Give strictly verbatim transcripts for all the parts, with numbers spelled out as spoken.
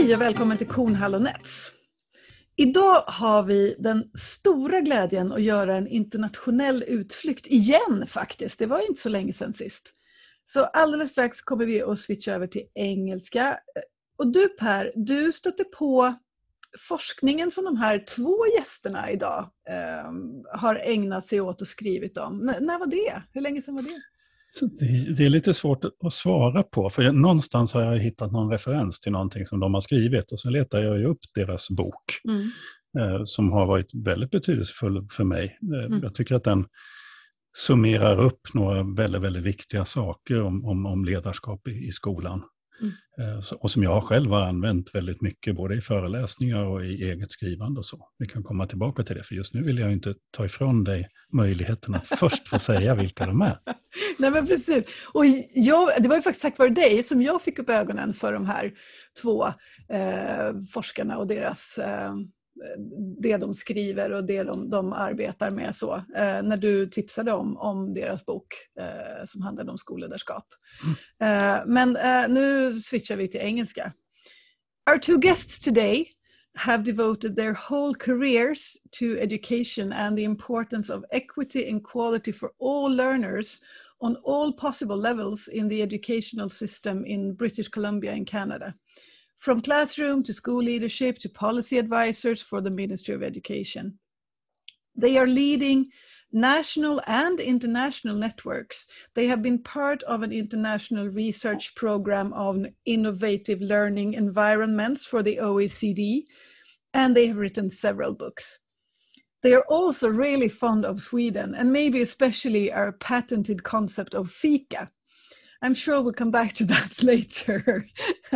Hej och välkommen till Kornhall och Nets. Idag har vi den stora glädjen att göra en internationell utflykt igen faktiskt. Det var inte så länge sedan sist. Så alldeles strax kommer vi att switcha över till engelska. Och du Per, du stötte på forskningen som de här två gästerna idag eh, har ägnat sig åt och skrivit om. N- när var det? Hur länge sedan var det? Det, det är lite svårt att svara på, för jag, någonstans har jag hittat någon referens till någonting som de har skrivit och så letar jag ju upp deras bok Mm. eh, som har varit väldigt betydelsefull för mig. Eh, Mm. Jag tycker att den summerar upp några väldigt, väldigt viktiga saker om, om, om ledarskap i, i skolan. Mm. Eh, så, och som jag själv har använt väldigt mycket, både i föreläsningar och i eget skrivande och så. Vi kan komma tillbaka till det, för just nu vill jag inte ta ifrån dig möjligheten att först få säga vilka de är. Nej men precis. Och jag, det var ju faktiskt tack vare dig som jag fick upp ögonen för de här två eh, forskarna och deras, eh, det de skriver och det de, de arbetar med så. Eh, när du tipsade om, om deras bok eh, som handlade om skolledarskap. Mm. Eh, men eh, nu switchar vi till engelska. Our two guests today have devoted their whole careers to education and the importance of equity and quality for all learners on all possible levels in the educational system in British Columbia and Canada, from classroom to school leadership to policy advisors for the Ministry of Education. They are leading national and international networks. They have been part of an international research program on innovative learning environments for the O E C D, and they have written several books. They are also really fond of Sweden, and maybe especially our patented concept of fika. I'm sure we'll come back to that later.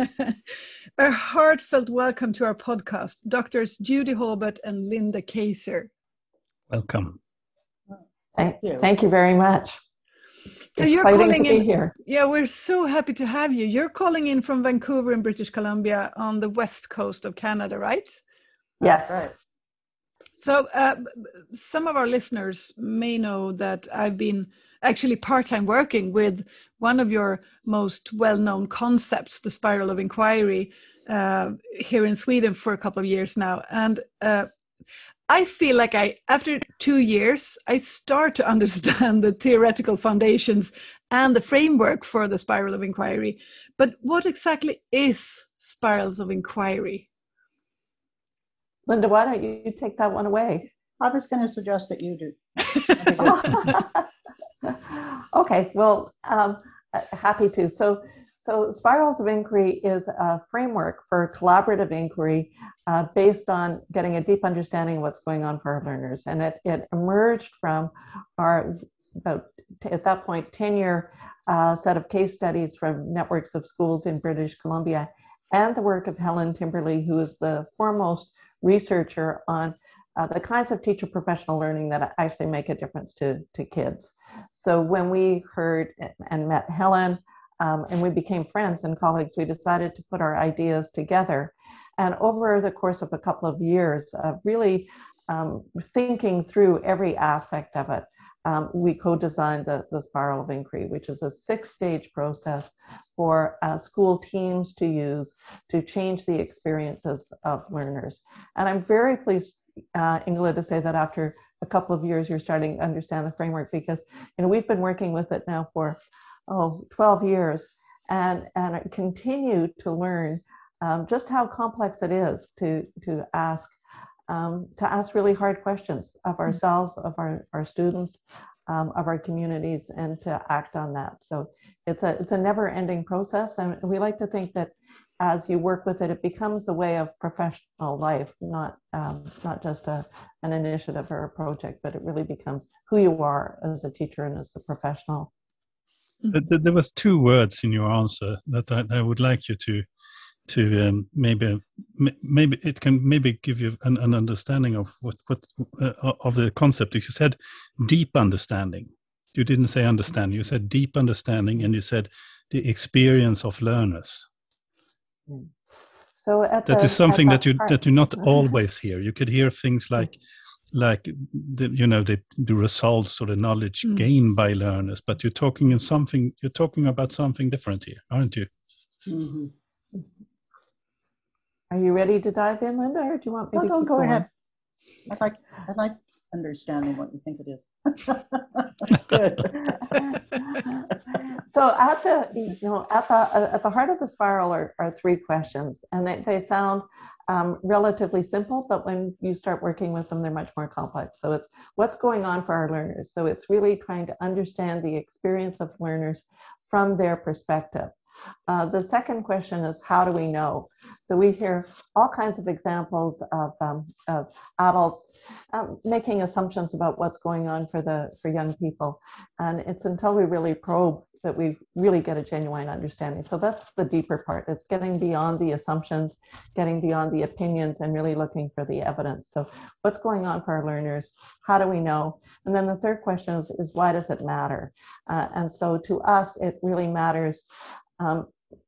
A heartfelt welcome to our podcast, Doctors Judy Hobart and Linda Kaiser. Welcome. Thank you. Thank you very much. So Exciting you're calling to be in here. Yeah, we're so happy to have you. You're calling in from Vancouver in British Columbia on the west coast of Canada, right? Yes. Right. So uh, some of our listeners may know that I've been actually part-time working with one of your most well-known concepts, the spiral of inquiry, uh, here in Sweden for a couple of years now. And uh, I feel like I, after two years, I start to understand the theoretical foundations and the framework for the spiral of inquiry. But what exactly is spirals of inquiry? Linda, why don't you take that one away? I was going to suggest that you do. Okay, well, um, happy to. So, so Spirals of Inquiry is a framework for collaborative inquiry uh, based on getting a deep understanding of what's going on for our learners. And it, it emerged from our, about t- at that point, ten-year uh, set of case studies from networks of schools in British Columbia, and the work of Helen Timberley, who is the foremost researcher on uh, the kinds of teacher professional learning that actually make a difference to, to kids. So when we heard and met Helen um, and we became friends and colleagues, we decided to put our ideas together. And over the course of a couple of years, uh, really um, thinking through every aspect of it, um, we co-designed the, the Spiral of Inquiry, which is a six-stage process for uh, school teams to use to change the experiences of learners. And I'm very pleased, uh, Ingela, to say that after a couple of years, you're starting to understand the framework, because you know we've been working with it now for oh, twelve years, and, and continue to learn um, just how complex it is to, to ask um, to ask really hard questions of ourselves, of our, our students, um, of our communities, and to act on that. So it's a it's a never-ending process, and we like to think that as you work with it, it becomes a way of professional life, not um, not just a an initiative or a project, but it really becomes who you are as a teacher and as a professional. But there was two words in your answer that I, I would like you to to um, maybe maybe it can maybe give you an, an understanding of what what uh, of the concept. You said deep understanding. You didn't say understanding. You said deep understanding, and you said the experience of learners. So at that the, is something that, that you part. that you not always hear. You could hear things like like the, you know the, the results or the knowledge mm. gained by learners, but you're talking in something. You're talking about something different here, aren't you? Mm-hmm. Are you ready to dive in, Linda, or do you want me No, to no, keep go going? ahead. I like, I like understanding what you think it is. That's good. So at the, you know, at the at the heart of the spiral are, are three questions, and they, they sound um, relatively simple, but when you start working with them, they're much more complex. So it's what's going on for our learners. So it's really trying to understand the experience of learners from their perspective. Uh, the second question is, how do we know? So we hear all kinds of examples of, um, of adults um, making assumptions about what's going on for the for young people, and it's until we really probe that we really get a genuine understanding. So that's the deeper part. It's getting beyond the assumptions, getting beyond the opinions, and really looking for the evidence. So what's going on for our learners? How do we know? And then the third question is, is why does it matter? Uh, and so to us, it really matters um,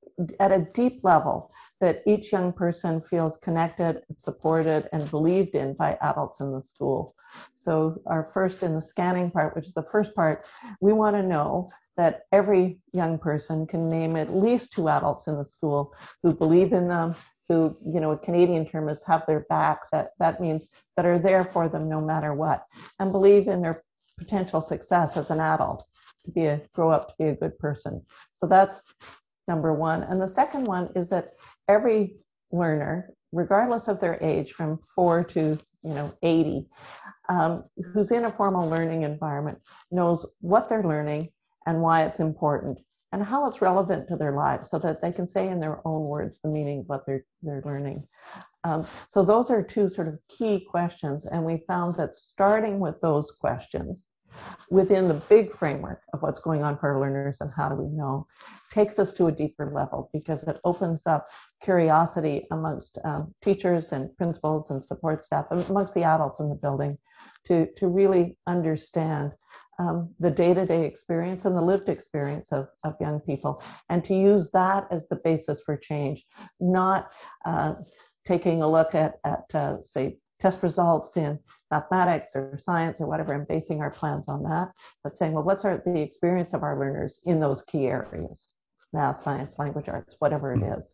at a deep level that each young person feels connected, supported, and believed in by adults in the school. So our first in the scanning part, which is the first part, we want to know that every young person can name at least two adults in the school who believe in them, who, you know, a Canadian term is have their back. That, that means that are there for them no matter what, and believe in their potential success as an adult, to be a, grow up to be a good person. So that's number one. And the second one is that every learner, regardless of their age, from four to, you know, eighty, um, who's in a formal learning environment, knows what they're learning and why it's important and how it's relevant to their lives, so that they can say in their own words the meaning of what they're, they're learning. Um, so those are two sort of key questions. And we found that starting with those questions within the big framework of what's going on for our learners and how do we know, takes us to a deeper level, because it opens up curiosity amongst um, teachers and principals and support staff, amongst the adults in the building, to, to really understand um, the day-to-day experience and the lived experience of, of young people, and to use that as the basis for change, not uh, taking a look at, at uh, say, test results in mathematics or science or whatever, and basing our plans on that, but saying, well, what's our, the experience of our learners in those key areas, math, science, language arts, whatever it is.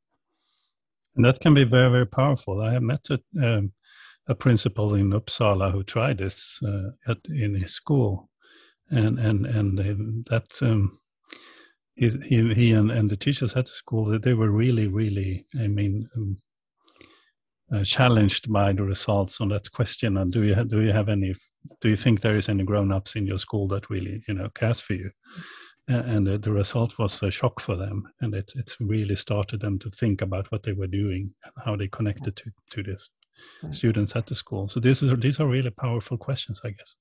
And that can be very, very powerful. I have met a, um, a principal in Uppsala who tried this uh, at, in his school, and and and that um, he he, he and, and the teachers at the school, they were really, really, I mean, um, Uh, challenged by the results on that question. And do you have, do you have any, do you think there is any grown-ups in your school that really, you know, cares for you? Uh, and uh, the result was a shock for them, and it it's really started them to think about what they were doing and how they connected to to this right. students at the school. So this is these are really powerful questions, I guess.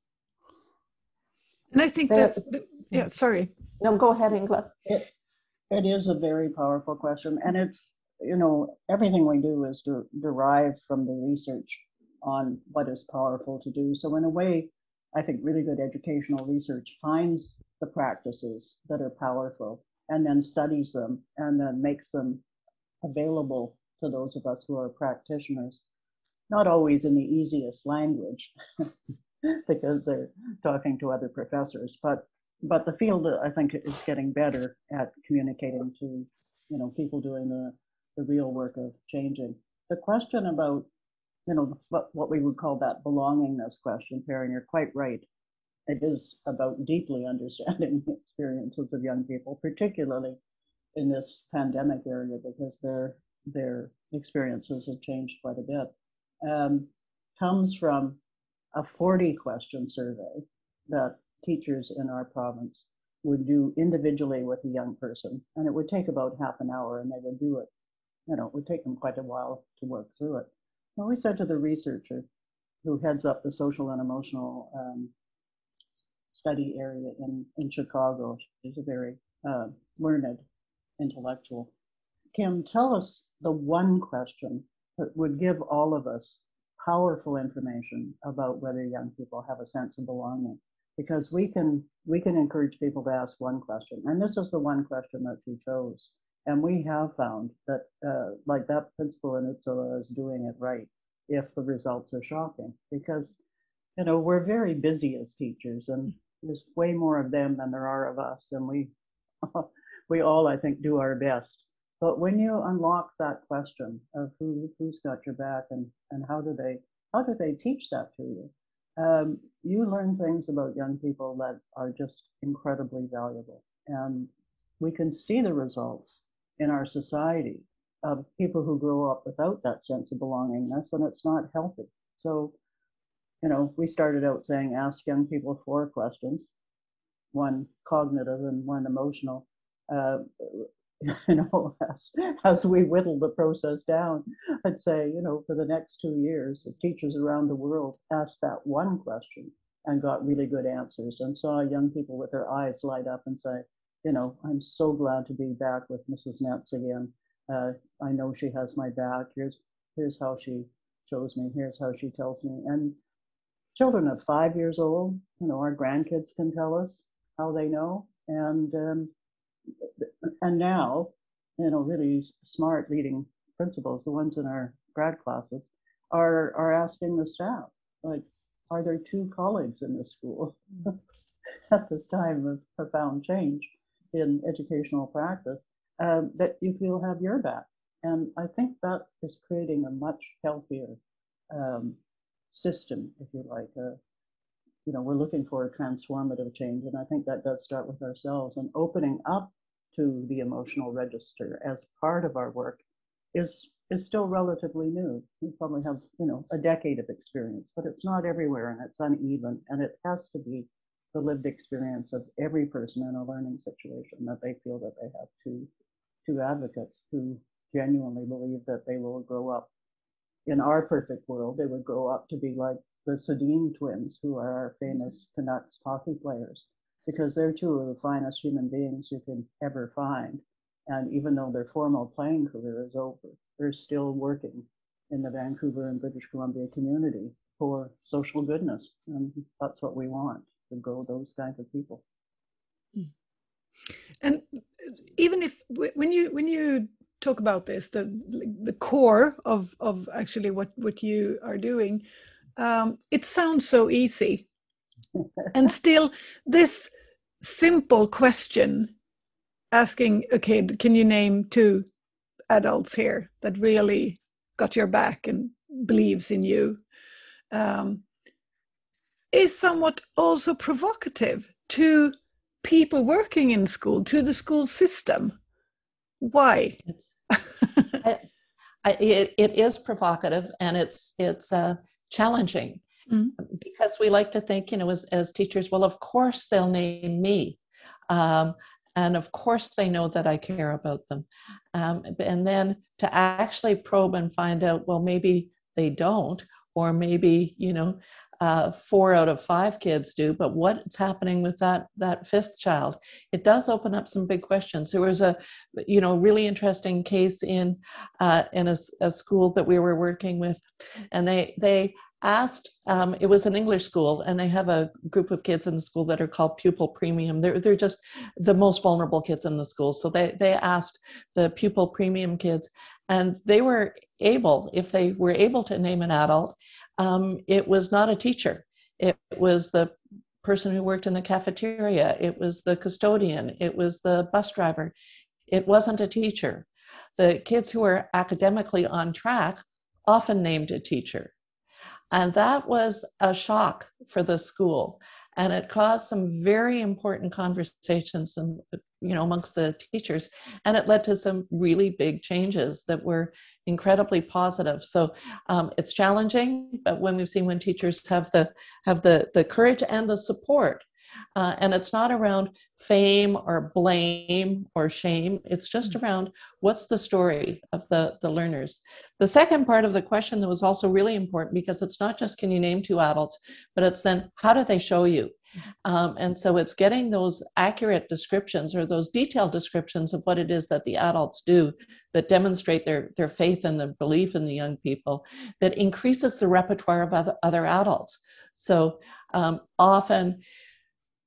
And I think that's yeah. Sorry. No, go ahead, Ingela. It, it is a very powerful question, and it's, you know, everything we do is de- derived from the research on what is powerful to do. So in a way, I think really good educational research finds the practices that are powerful and then studies them and then makes them available to those of us who are practitioners, not always in the easiest language because they're talking to other professors, but but the field, I think, is getting better at communicating to, you know, people doing the the real work of changing. The question about, you know, what, what we would call that belongingness question, Perrin, you're quite right. It is about deeply understanding the experiences of young people, particularly in this pandemic area, because their their experiences have changed quite a bit. Um, comes from a forty question survey that teachers in our province would do individually with a young person, and it would take about half an hour, and they would do it. You know, it would take them quite a while to work through it. Well, we said to the researcher who heads up the social and emotional um, study area in, in Chicago, she's a very uh, learned intellectual, Kim, tell us the one question that would give all of us powerful information about whether young people have a sense of belonging. Because we can, we can encourage people to ask one question, and this is the one question that she chose. And we have found that, uh, like that principal in Uppsala is doing it right if the results are shocking. Because, you know, we're very busy as teachers, and there's way more of them than there are of us. And we, we all, I think, do our best. But when you unlock that question of who, who's got your back and, and how do they how do they teach that to you, um, you learn things about young people that are just incredibly valuable. And we can see the results in our society of people who grow up without that sense of belonging. That's when it's not healthy. So, you know, we started out saying ask young people four questions, one cognitive and one emotional. Uh, you know, as, as we whittle the process down, I'd say, you know, for the next two years, teachers around the world asked that one question and got really good answers and saw young people with their eyes light up and say, you know, I'm so glad to be back with Missus Netz again. Uh, I know she has my back. Here's, here's how she shows me. Here's how she tells me. And children of five years old, you know, our grandkids can tell us how they know. And um, and now, you know, really smart leading principals, the ones in our grad classes, are are asking the staff, like, are there two colleagues in this school at this time of profound change in educational practice um, that you feel have your back? And I think that is creating a much healthier um, system, if you like. Uh, you know, we're looking for a transformative change, and I think that does start with ourselves, and opening up to the emotional register as part of our work is is still relatively new. We probably have, you know, a decade of experience, but it's not everywhere, and it's uneven, and it has to be the lived experience of every person in a learning situation that they feel that they have two two advocates who genuinely believe that they will grow up. In our perfect world, they would grow up to be like the Sedin twins, who are our famous Canucks hockey players, because they're two of the finest human beings you can ever find. And even though their formal playing career is over, they're still working in the Vancouver and British Columbia community for social goodness. And that's what we want, to grow those kinds of people. And even if, when you when you talk about this, the the core of, of actually what, what you are doing, um, it sounds so easy. And still, this simple question, asking, okay, can you name two adults here that really got your back and believes in you, um, is somewhat also provocative to people working in school, to the school system. Why? I, I, it, it is provocative, and it's it's uh, challenging. Mm-hmm. Because we like to think, you know, as, as teachers, well, of course they'll name me. Um, and of course they know that I care about them. Um, and then to actually probe and find out, well, maybe they don't, or maybe, you know, uh, four out of five kids do, but what's happening with that, that fifth child? It does open up some big questions. There was a, you know, really interesting case in, uh, in a, a school that we were working with, and they, they, asked, um, it was an English school, and they have a group of kids in the school that are called pupil premium. They're, they're just the most vulnerable kids in the school. So they, they asked the pupil premium kids, and they were able, if they were able to name an adult, um, it was not a teacher. It was the person who worked in the cafeteria. It was the custodian. It was the bus driver. It wasn't a teacher. The kids who were academically on track often named a teacher. And that was a shock for the school. And it caused some very important conversations, and, you know, amongst the teachers. And it led to some really big changes that were incredibly positive. So um, it's challenging, but when we've seen when teachers have the have the, the courage and the support, uh, and it's not around fame or blame or shame, it's just around what's the story of the, the learners. The second part of the question that was also really important, because it's not just can you name two adults, but it's then how do they show you? Um, and so it's getting those accurate descriptions, or those detailed descriptions of what it is that the adults do that demonstrate their, their faith and the belief in the young people, that increases the repertoire of other, other adults. So um, often,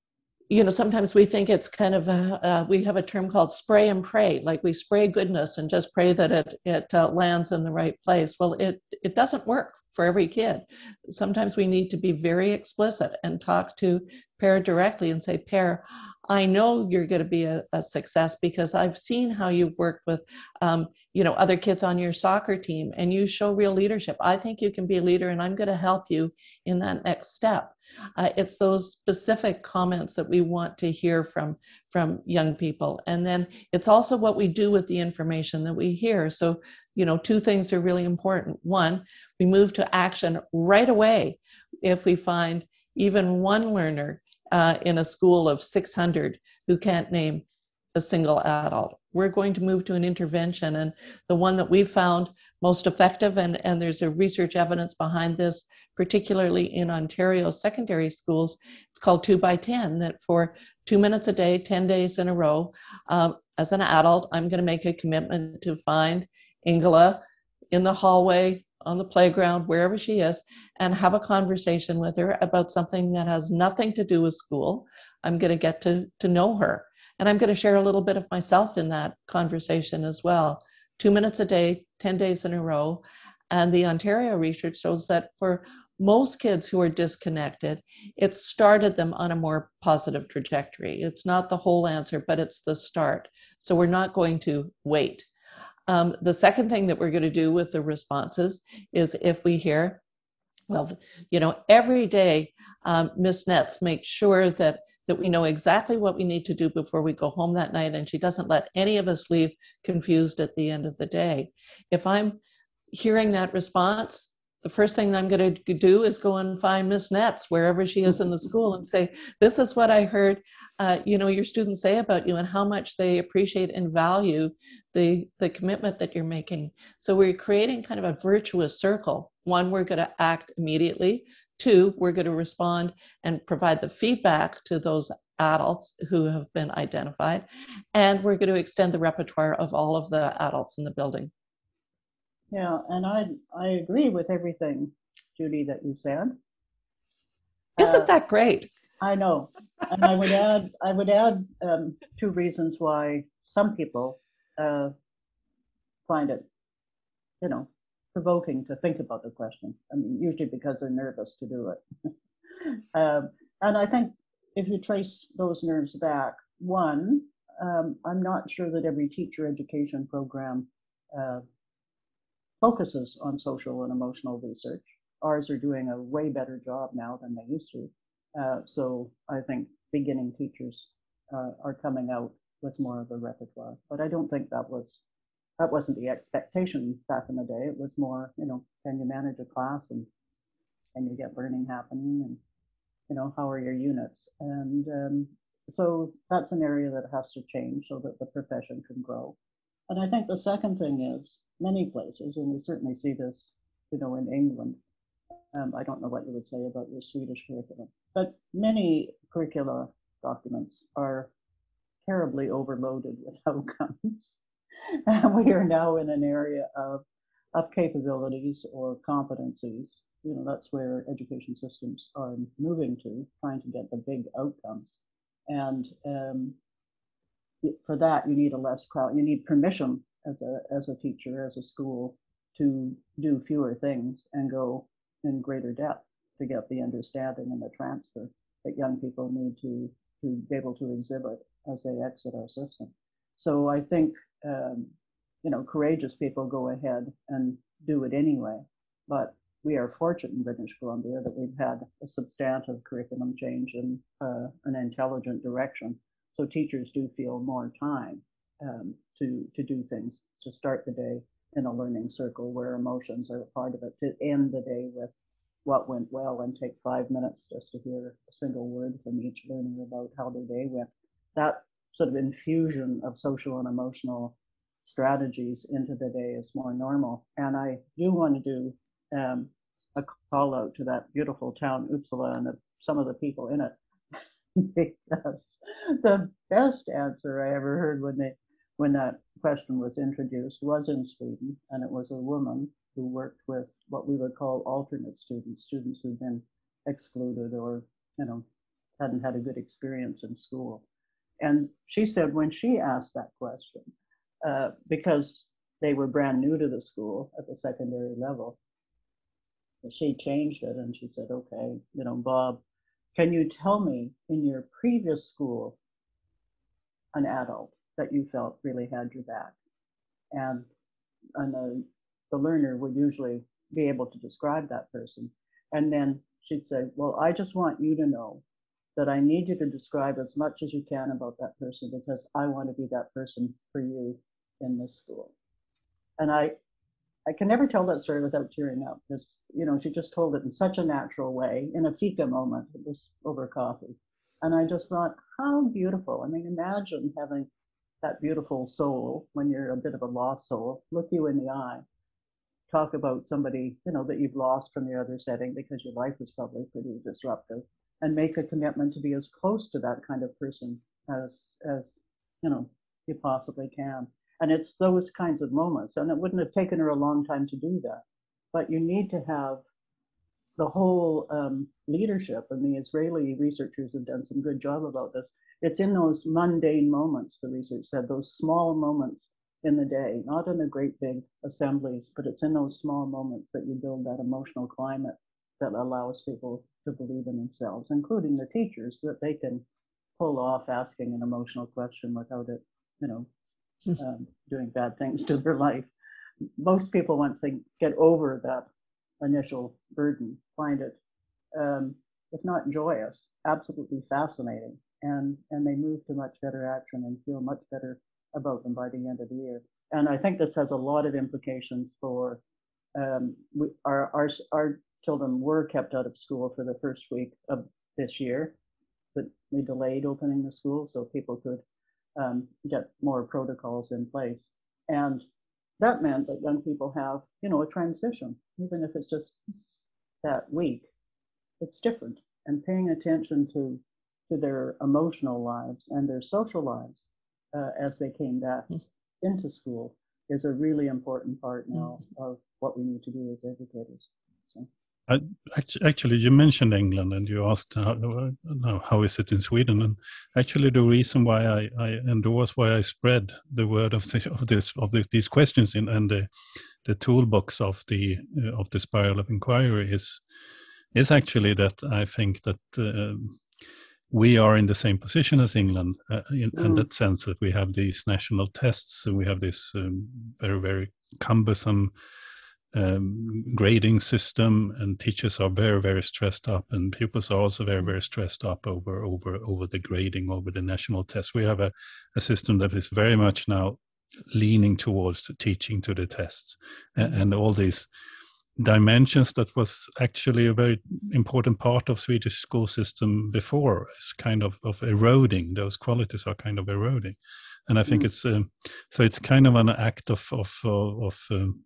you know, sometimes we think it's kind of, a, uh, we have a term called spray and pray, like we spray goodness and just pray that it, it uh, lands in the right place. Well, it, it doesn't work for every kid. Sometimes we need to be very explicit and talk to Per directly and say, Per, I know you're going to be a, a success because I've seen how you've worked with, um, you know, other kids on your soccer team, and you show real leadership. I think you can be a leader, and I'm going to help you in that next step. Uh, it's those specific comments that we want to hear from, from young people. And then it's also what we do with the information that we hear. So, you know, two things are really important. One, we move to action right away if we find even one learner uh, in a school of six hundred who can't name a single adult. We're going to move to an intervention. And the one that we found most effective, and, and there's a research evidence behind this, particularly in Ontario secondary schools, it's called two by ten, that for two minutes a day, ten days in a row, um, as an adult, I'm going to make a commitment to find Ingela in the hallway, on the playground, wherever she is, and have a conversation with her about something that has nothing to do with school. I'm going to get to, to know her. And I'm going to share a little bit of myself in that conversation as well. Two minutes a day, ten days in a row. And the Ontario research shows that for most kids who are disconnected, it started them on a more positive trajectory. It's not the whole answer, but it's the start. So we're not going to wait. Um, the second thing that we're going to do with the responses is if we hear, well, you know, every day, um, Miss Netz makes sure that that we know exactly what we need to do before we go home that night, and she doesn't let any of us leave confused at the end of the day. If I'm hearing that response, the first thing that I'm going to do is go and find Miss Netz wherever she is in the school and say, this is what I heard uh, you know, your students say about you and how much they appreciate and value the, the commitment that you're making. So we're creating kind of a virtuous circle. One, we're going to act immediately. Two, we're going to respond and provide the feedback to those adults who have been identified. And we're going to extend the repertoire of all of the adults in the building. Yeah, and I I agree with everything, Judy, that you said. Isn't uh, that great? I know, and I would add I would add um, two reasons why some people uh, find it, you know, provoking to think about the question. I mean, usually because they're nervous to do it. um, and I think if you trace those nerves back, one, um, I'm not sure that every teacher education program uh, focuses on social and emotional research. Ours are doing a way better job now than they used to. Uh, so I think beginning teachers uh, are coming out with more of a repertoire. But I don't think that was that wasn't the expectation back in the day. It was more, you know, can you manage a class and can you get learning happening, and you know, how are your units? And um, so that's an area that has to change so that the profession can grow. And I think the second thing is many places, and we certainly see this, you know, in England. Um, I don't know what you would say about your Swedish curriculum, but many curricula documents are terribly overloaded with outcomes. And we are now in an area of, of capabilities or competencies. You know, that's where education systems are moving to, trying to get the big outcomes. And um, for that, you need a less crowd, you need permission as a, as a teacher, as a school, to do fewer things and go in greater depth to get the understanding and the transfer that young people need to, to be able to exhibit as they exit our system. So I think, um, you know, courageous people go ahead and do it anyway. But we are fortunate in British Columbia that we've had a substantive curriculum change in uh, an intelligent direction. So teachers do feel more time um, to, to do things, to start the day in a learning circle where emotions are a part of it, to end the day with what went well and take five minutes just to hear a single word from each learner about how their day went. That sort of infusion of social and emotional strategies into the day is more normal. And I do want to do um, a call out to that beautiful town, Uppsala, and the, some of the people in it, because the best answer I ever heard when they when that question was introduced was in Sweden, and it was a woman who worked with what we would call alternate students, students who'd been excluded or, you know, hadn't had a good experience in school. And she said when she asked that question, uh, because they were brand new to the school at the secondary level, she changed it and she said, okay, you know, Bob, can you tell me in your previous school an adult that you felt really had your back? And, and the, the learner would usually be able to describe that person. And then she'd say, well, I just want you to know that I need you to describe as much as you can about that person because I want to be that person for you in this school. And I, I can never tell that story without tearing up because, you know, she just told it in such a natural way in a fika moment. It was over coffee. And I just thought, how beautiful. I mean, imagine having that beautiful soul when you're a bit of a lost soul, look you in the eye, talk about somebody, you know, that you've lost from your other setting because your life is probably pretty disruptive, and make a commitment to be as close to that kind of person as, as you know, you possibly can. And it's those kinds of moments. And it wouldn't have taken her a long time to do that. But you need to have the whole um, leadership, and the Israeli researchers have done some good job about this. It's in those mundane moments, the research said, those small moments in the day, not in the great big assemblies, but it's in those small moments that you build that emotional climate that allows people to believe in themselves, including the teachers, so that they can pull off asking an emotional question without it, you know, um, doing bad things to their life. Most people, once they get over that initial burden, find it, um, if not joyous, absolutely fascinating. And, and they move to much better action and feel much better about them by the end of the year. And I think this has a lot of implications for um, we, our, our, our children were kept out of school for the first week of this year, but we delayed opening the school so people could um, get more protocols in place. And that meant that young people have, you know, a transition, even if it's just that week, it's different. And paying attention to, to their emotional lives and their social lives uh, as they came back into school is a really important part now of what we need to do as educators. So. I, actually, you mentioned England, and you asked how, how is it in Sweden, and actually the reason why I, I endorse, why I spread the word of, the, of this of the, these questions in and the the toolbox of the uh, of the spiral of inquiry is is actually that I think that uh, we are in the same position as England uh, in, mm. in that sense that we have these national tests, and we have this um, very very cumbersome Um, grading system, and teachers are very very stressed up, and pupils are also very very stressed up over over over the grading, over the national test. We have a, a system that is very much now leaning towards the teaching to the tests, and, and all these dimensions that was actually a very important part of Swedish school system before is kind of, of eroding. Those qualities are kind of eroding, and I think mm. it's um, so it's kind of an act of of of, of um,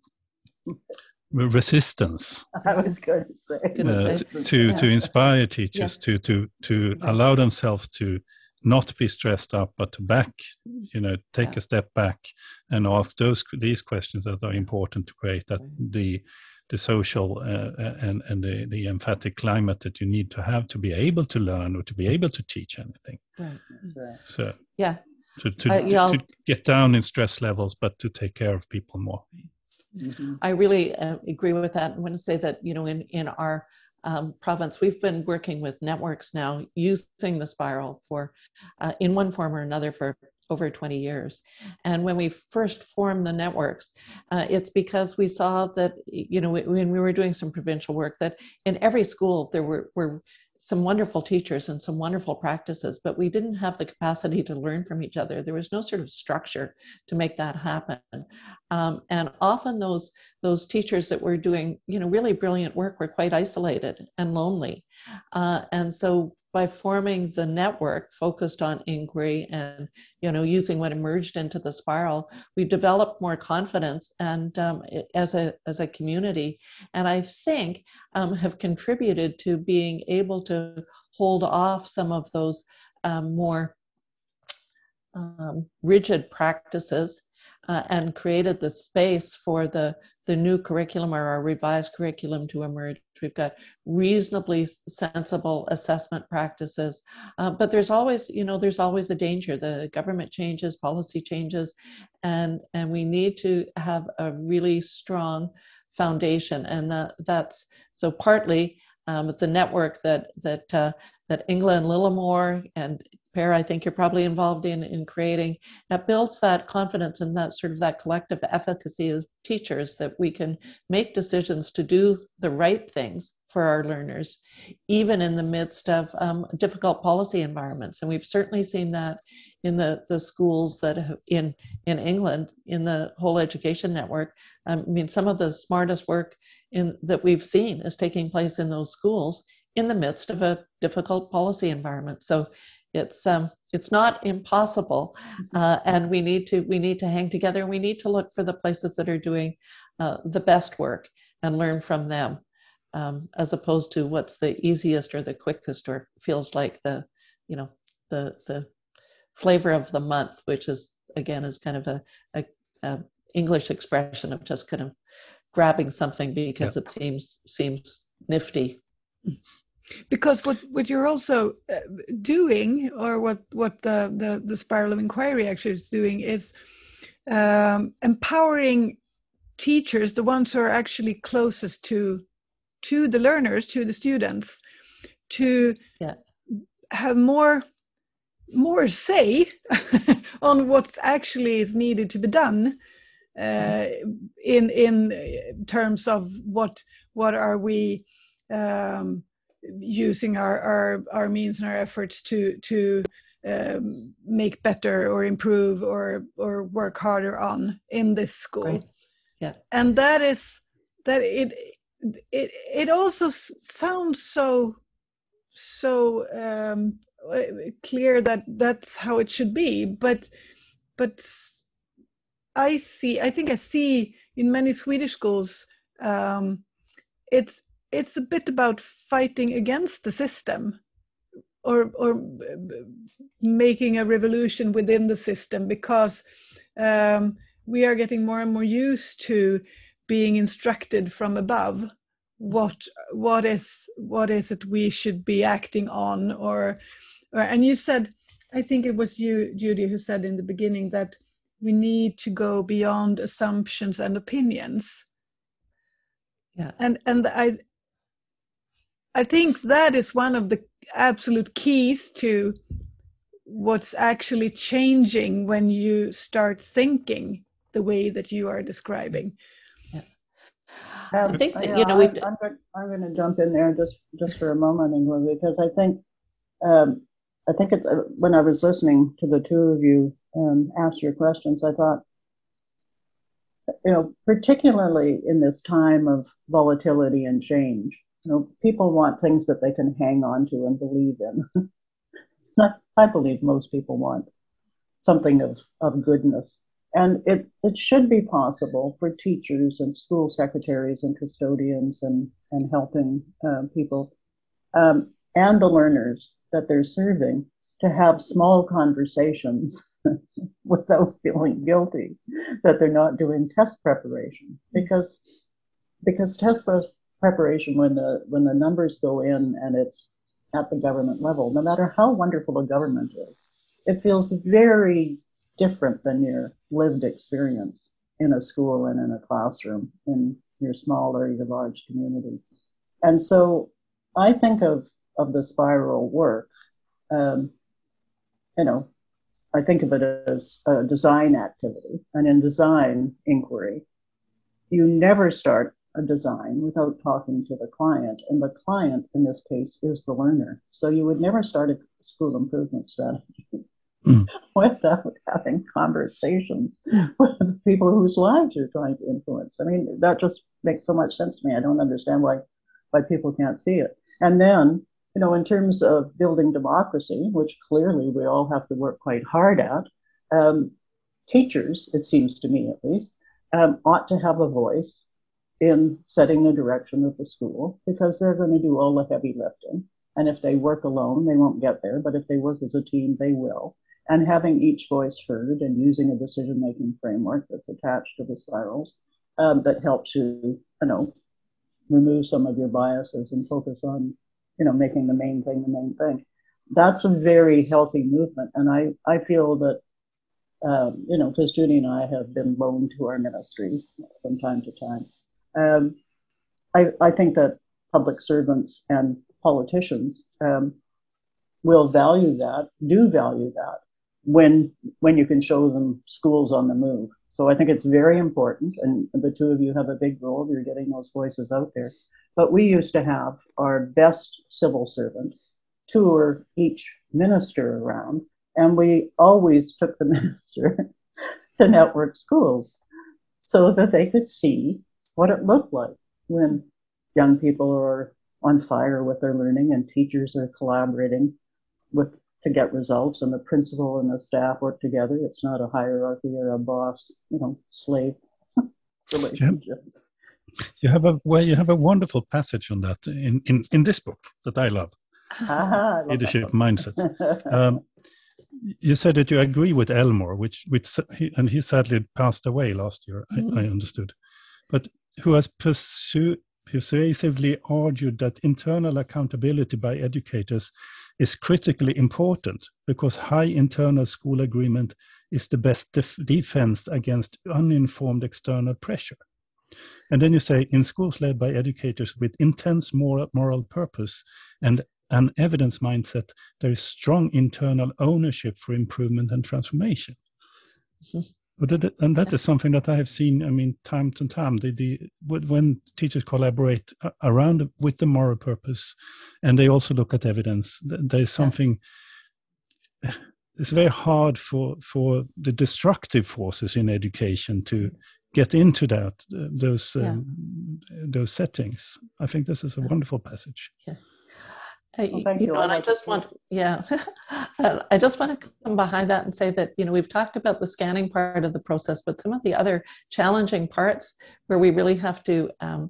resistance. I was going to say uh, to to, yeah. to inspire teachers yeah. to to to yeah. allow themselves to not be stressed up, but to back, you know, take yeah. a step back and ask those these questions that are important to create that the the social uh, and and the, the emphatic climate that you need to have to be able to learn or to be able to teach anything. Right. Right. So yeah, to to, uh, yeah, to to get down in stress levels, but to take care of people more. Mm-hmm. I really uh, agree with that. I want to say that, you know, in, in our um, province, we've been working with networks now using the spiral for, uh, in one form or another for over twenty years. And when we first formed the networks, uh, it's because we saw that, you know, when we were doing some provincial work, that in every school there were, were some wonderful teachers and some wonderful practices, but we didn't have the capacity to learn from each other. There was no sort of structure to make that happen. Um, and often those, those teachers that were doing, you know, really brilliant work were quite isolated and lonely. Uh, and so by forming the network focused on inquiry and, you know, using what emerged into the spiral, we developed more confidence and um, as a as a community, and I think um, have contributed to being able to hold off some of those um, more um, rigid practices uh, and created the space for the, the new curriculum or our revised curriculum to emerge. We've got reasonably sensible assessment practices, uh, but there's always, you know, there's always a danger. The government changes, policy changes, and, and we need to have a really strong foundation. And that, that's, so partly um, the network that, that, uh, that Ingela and Lillimore and Per, I think you're probably involved in, in creating, that builds that confidence and that sort of that collective efficacy of teachers, that we can make decisions to do the right things for our learners, even in the midst of um, difficult policy environments. And we've certainly seen that in the, the schools that have, in, in England, in the whole education network. Um, I mean, some of the smartest work in, that we've seen is taking place in those schools in the midst of a difficult policy environment. So it's um, it's not impossible, uh, and we need to we need to hang together. We need to look for the places that are doing uh, the best work and learn from them, um, as opposed to what's the easiest or the quickest or feels like the, you know, the the flavor of the month, which is again is kind of a, a, a English expression of just kind of grabbing something because yeah. it seems seems nifty. Because what, what you're also uh, doing, or what, what the, the, the Spiral of Inquiry actually is doing, is um, empowering teachers, the ones who are actually closest to, to the learners, to the students, to yeah. have more, more say on what actually is needed to be done uh, in, in terms of what, what are we um, using our, our our means and our efforts to to um, make better or improve or or work harder on in this school. Right. Yeah, and that is that it it it also sounds so so um, clear that that's how it should be, but but I see I think I see in many Swedish schools um, it's it's a bit about fighting against the system, or or making a revolution within the system, because um, we are getting more and more used to being instructed from above what what is what is it we should be acting on, or, or and you said, I think it was you, Judy, who said in the beginning that we need to go beyond assumptions and opinions. Yeah, and and I. I think that is one of the absolute keys to what's actually changing when you start thinking the way that you are describing. Yeah. Um, I think that, yeah, you know, we. I'm, I'm, I'm going to jump in there just, just for a moment, Ingela, because I think, um, I think it's, uh, when I was listening to the two of you um, ask your questions, I thought, you know, particularly in this time of volatility and change, you know, people want things that they can hang on to and believe in. I believe most people want something of, of goodness. And it, it should be possible for teachers and school secretaries and custodians and, and helping uh, people um, and the learners that they're serving to have small conversations without feeling guilty that they're not doing test preparation. Because, because test preparation preparation when the when the numbers go in and it's at the government level, no matter how wonderful a government is, it feels very different than your lived experience in a school and in a classroom in your small or your large community. And so I think of of the spiral work, um, you know, I think of it as a design activity. And in design inquiry, you never start a design without talking to the client. And the client in this case is the learner. So you would never start a school improvement strategy mm. without having conversations with people whose lives you're trying to influence. I mean, that just makes so much sense to me. I don't understand why, why people can't see it. And then, you know, in terms of building democracy, which clearly we all have to work quite hard at, um, teachers, it seems to me at least, um, ought to have a voice in setting the direction of the school, because they're going to do all the heavy lifting. And if they work alone, they won't get there. But if they work as a team, they will. and having each voice heard and using a decision-making framework that's attached to the spirals um, that helps you, you know, remove some of your biases and focus on, you know, making the main thing the main thing. That's a very healthy movement. And I, I feel that, um, you know, because Judy and I have been loaned to our ministries from time to time. Um, I, I think that public servants and politicians um, will value that, do value that, when when you can show them schools on the move. So I think it's very important, and the two of you have a big role. You're getting those voices out there. But we used to have our best civil servant tour each minister around, and we always took the minister to network schools so that they could see what it looked like when young people are on fire with their learning and teachers are collaborating with to get results, and the principal and the staff work together. It's not a hierarchy or a boss, you know, slave relationship. You have a well, you have a wonderful passage on that in, in, in this book that I love, Aha, I Leadership Mindset. Um, you said that you agree with Elmore, which which and he sadly passed away last year. Mm-hmm. I, I understood, but who has pursued. persuasively argued that internal accountability by educators is critically important because high internal school agreement is the best def- defense against uninformed external pressure. And then you say, in schools led by educators with intense moral, moral purpose and an evidence mindset, there is strong internal ownership for improvement and transformation. Mm-hmm. But and that is something that I have seen, I mean, time to time, the, the, when teachers collaborate around with the moral purpose and they also look at evidence, there's something, it's very hard for, for the destructive forces in education to get into that, those, yeah. um, those settings. I think this is a wonderful passage. Yeah. Uh, well, thank you, you know, and I just want, yeah, I just want to come behind that and say that, you know, we've talked about the scanning part of the process, but some of the other challenging parts where we really have to um,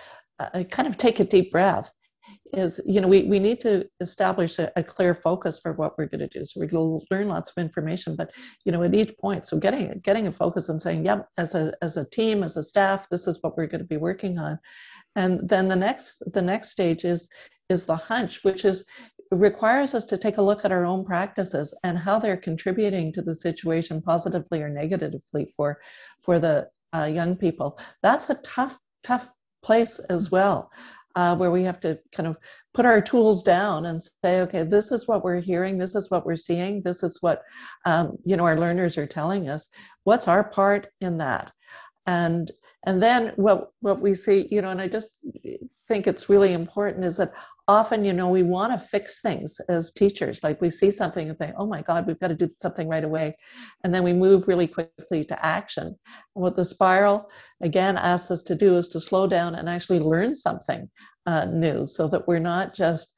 uh, kind of take a deep breath is, you know, we, we need to establish a, a clear focus for what we're going to do. So we're going to learn lots of information, but, you know, at each point, so getting getting a focus and saying, yep, as a as a team, as a staff, this is what we're going to be working on. And then the next the next stage is is the hunch, which is requires us to take a look at our own practices and how they're contributing to the situation positively or negatively for for the uh, young people. That's a tough, tough place as well, uh, where we have to kind of put our tools down and say, okay, this is what we're hearing, this is what we're seeing, this is what um, you know, our learners are telling us. What's our part in that? And and then what what we see, you know, and I just think it's really important is that often, you know, we want to fix things as teachers. Like we see something and think, oh my God, we've got to do something right away. And then we move really quickly to action. And what the spiral, again, asks us to do is to slow down and actually learn something uh, new so that we're not just,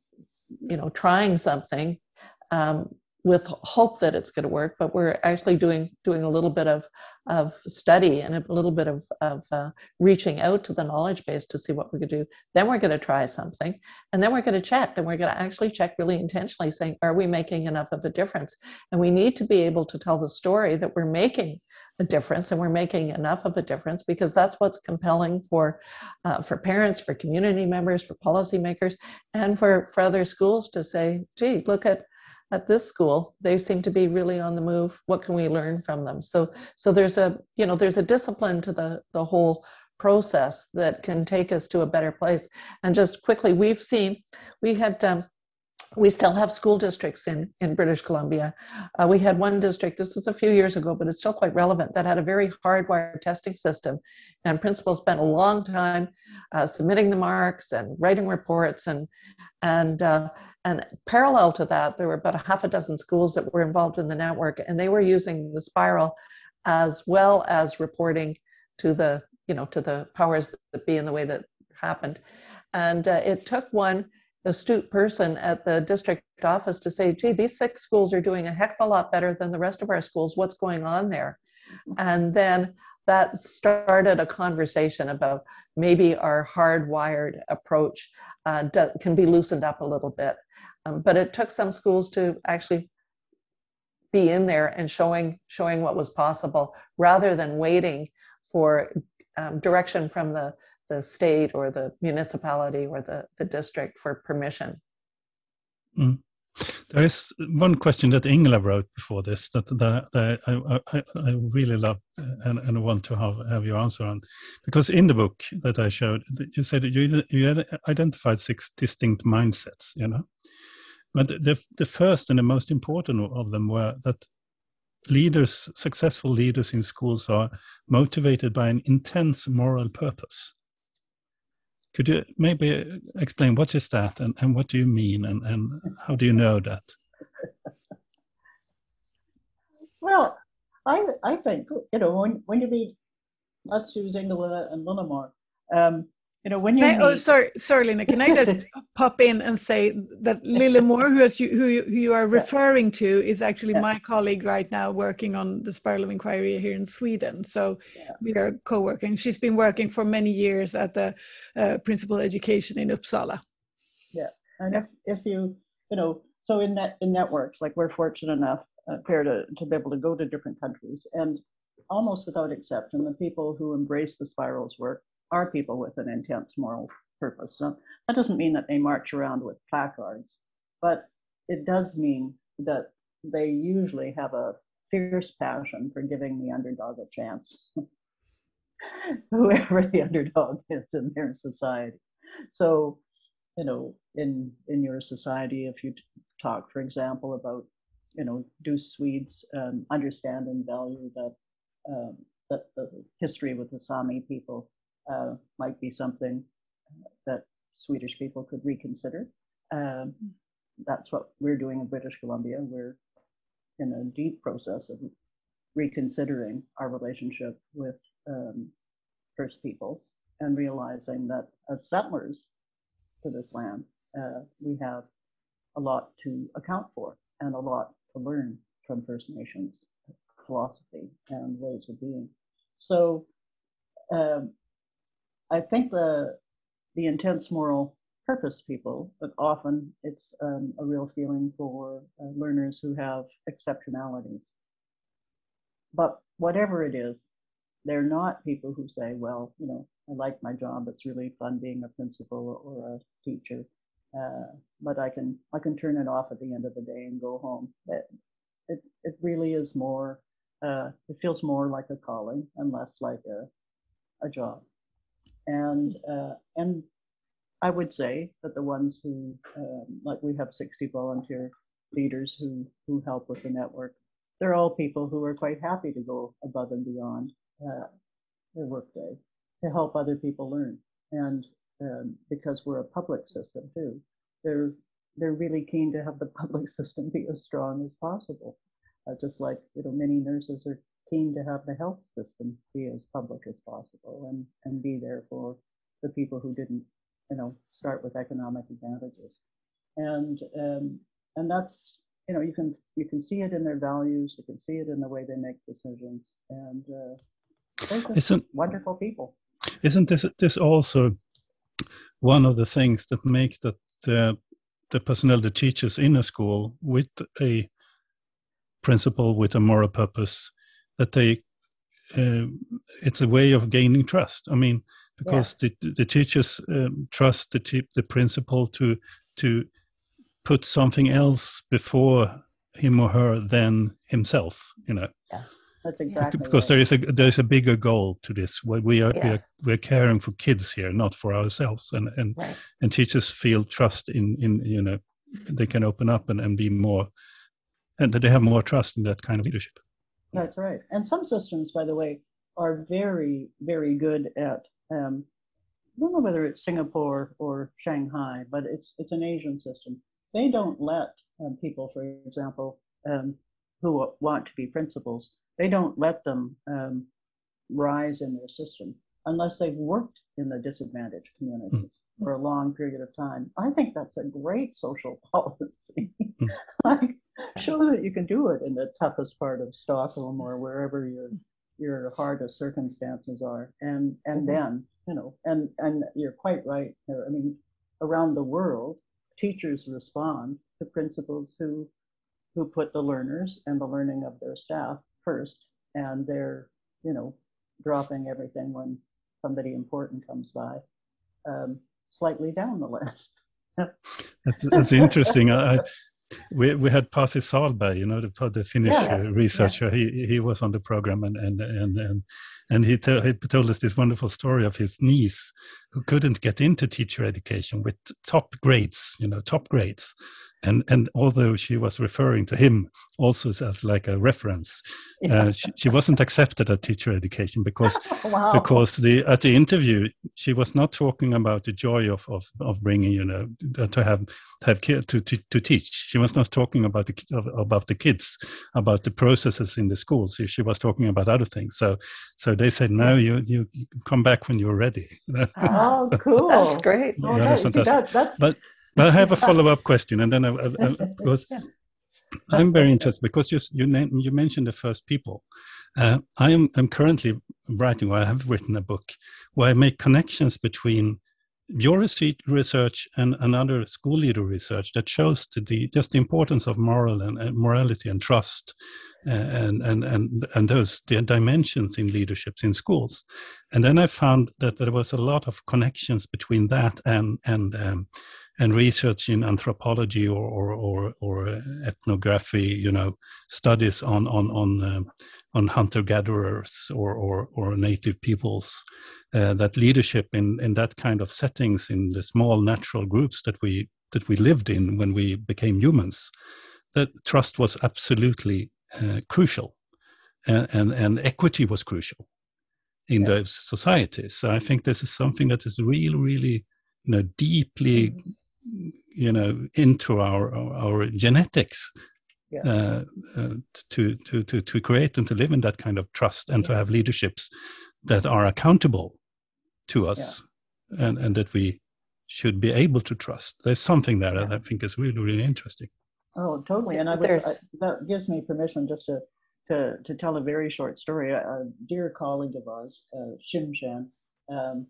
you know, trying something um, with hope that it's going to work, but we're actually doing doing a little bit of, of study and a little bit of, of uh, reaching out to the knowledge base to see what we could do. Then we're going to try something, and then we're going to check, and we're going to actually check really intentionally, saying, are we making enough of a difference? And we need to be able to tell the story that we're making a difference, and we're making enough of a difference, because that's what's compelling for uh, for parents, for community members, for policymakers, and for, for other schools to say, gee, look at at this school, they seem to be really on the move. What can we learn from them? So, so there's a, you know, there's a discipline to the, the whole process that can take us to a better place. And just quickly, we've seen, we had, um, we still have school districts in, in British Columbia. Uh, we had one district, this was a few years ago, but it's still quite relevant, that had a very hardwired testing system. And principals spent a long time uh, submitting the marks and writing reports. And, and, uh, and parallel to that, there were about a half a dozen schools that were involved in the network, and they were using the spiral as well as reporting to the, you know, to the powers that be in the way that happened. And uh, it took one astute person at the district office to say, gee, these six schools are doing a heck of a lot better than the rest of our schools. What's going on there? And then that started a conversation about maybe our hardwired approach uh, can be loosened up a little bit. Um, but it took some schools to actually be in there and showing showing what was possible, rather than waiting for um, direction from the, the state or the municipality or the, the district for permission. Mm. There is one question that Ingela wrote before this that, that, that I, I, I really love and, and want to have, have your answer on. Because in the book that I showed, you said that you, you identified six distinct mindsets, you know. But the, the first and the most important of them were that leaders, successful leaders in schools are motivated by an intense moral purpose. Could you maybe explain what is that and, and what do you mean and, and how do you know that? Well, I I think, you know, when, when you meet, let's use Ingela and Lillemor, um, you know, when you I, meet... oh, sorry, sorry, Lina. Can I just pop in and say that Lillemor, who, is you, who, you, who you are Yeah. referring to, is actually Yeah. my colleague right now working on the Spiral of Inquiry here in Sweden. So Yeah. we are co-working. She's been working for many years at the uh, Principal Education in Uppsala. Yeah, and if, if you, you know, so in net, in networks, like we're fortunate enough, uh, Claire, to, to be able to go to different countries, and almost without exception, the people who embrace the Spirals work are people with an intense moral purpose. So that doesn't mean that they march around with placards, but it does mean that they usually have a fierce passion for giving the underdog a chance, whoever the underdog is in their society. So, you know, in in your society, if you talk, for example, about, you know, do Swedes um, understand and value that um, that the history with the Sami people uh, might be something that Swedish people could reconsider. Um, that's what we're doing in British Columbia. We're in a deep process of reconsidering our relationship with um, First Peoples and realizing that as settlers to this land, uh, we have a lot to account for and a lot to learn from First Nations philosophy and ways of being. So um, I think the the intense moral purpose people, but often it's um, a real feeling for uh, learners who have exceptionalities. But whatever it is, they're not people who say, well, you know, I like my job, it's really fun being a principal or a teacher, uh, but I can I can turn it off at the end of the day and go home. It, it, it really is more, uh, it feels more like a calling and less like a, a job. And, uh, and I would say that the ones who, um, like we have sixty volunteer leaders who, who help with the network, they're all people who are quite happy to go above and beyond uh, their workday to help other people learn. And um, because we're a public system too, they're, they're really keen to have the public system be as strong as possible. Uh, just like, you know, many nurses are keen to have the health system be as public as possible and, and be there for the people who didn't, you know, start with economic advantages. And um, and that's, you know, you can you can see it in their values, you can see it in the way they make decisions, and uh, they're just isn't, wonderful people. Isn't this this also one of the things that make that the the personnel, the teachers in a school with a principle, with a moral purpose, that they uh, it's a way of gaining trust. I mean, because yeah. the the teachers um, trust the the principal to to put something else before him or her than himself. You know. Yeah, that's exactly because right. there is a there is a bigger goal to this. Where we are yeah. we are we're caring for kids here, not for ourselves. And and right. and teachers feel trust in in you know they can open up and, and be more, and they have more trust in that kind of leadership. That's right. And some systems, by the way, are very, very good at, um, I don't know whether it's Singapore or Shanghai, but it's it's an Asian system. They don't let um, people, for example, um, who want to be principals, they don't let them um, rise in their system unless they've worked in the disadvantaged communities mm. for a long period of time. I think that's a great social policy. Mm. Like, show that you can do it in the toughest part of Stockholm or wherever your your hardest circumstances are, and and mm-hmm. then you know, and and you're quite right. I mean, around the world, teachers respond to principals who who put the learners and the learning of their staff first, and they're, you know, dropping everything when somebody important comes by, um, slightly down the list. That's, that's interesting. I, we we had Pasi Sahlberg, you know, the, the Finnish Yeah, uh, researcher. Yeah. He he was on the program, and and and and, and he, to, he told us this wonderful story of his niece who couldn't get into teacher education with top grades, you know, top grades. And and although she was referring to him also as like a reference, yeah. uh, she, she wasn't accepted at teacher education because wow. because the at the interview she was not talking about the joy of of, of bringing, you know, to have have kids to, to to teach. She was not talking about the about the kids, about the processes in the schools. She, she was talking about other things. So so they said, no, yeah. you you come back when you're ready. Oh, cool! That's great. Oh, that, see, that, that's but. But I have a follow-up question, and then I, I, I, because yeah. I'm very interested because you you, name, you mentioned the first people. Uh, I am I'm currently writing, or I have written a book where I make connections between your research and another school leader research that shows the, the just the importance of moral and uh, morality and trust, uh, and and and and those the dimensions in leaderships in schools. And then I found that there was a lot of connections between that and and um, and research in anthropology or or or, or ethnography, you know, studies on on on uh, on hunter-gatherers or, or or native peoples. Uh, that leadership in in that kind of settings, in the small natural groups that we that we lived in when we became humans, that trust was absolutely uh, crucial, and, and and equity was crucial in yeah. those societies. So I think this is something that is really really, you know, deeply mm-hmm. you know, into our our genetics. Yeah. Uh, uh, to to to to create and to live in that kind of trust, and yeah. to have leaderships that are accountable to us, yeah. and and that we should be able to trust. There's something there yeah. that I think is really really interesting. Oh, totally. And I would, I, that gives me permission just to to to tell a very short story. A, a dear colleague of ours, uh, Shim Shan, um,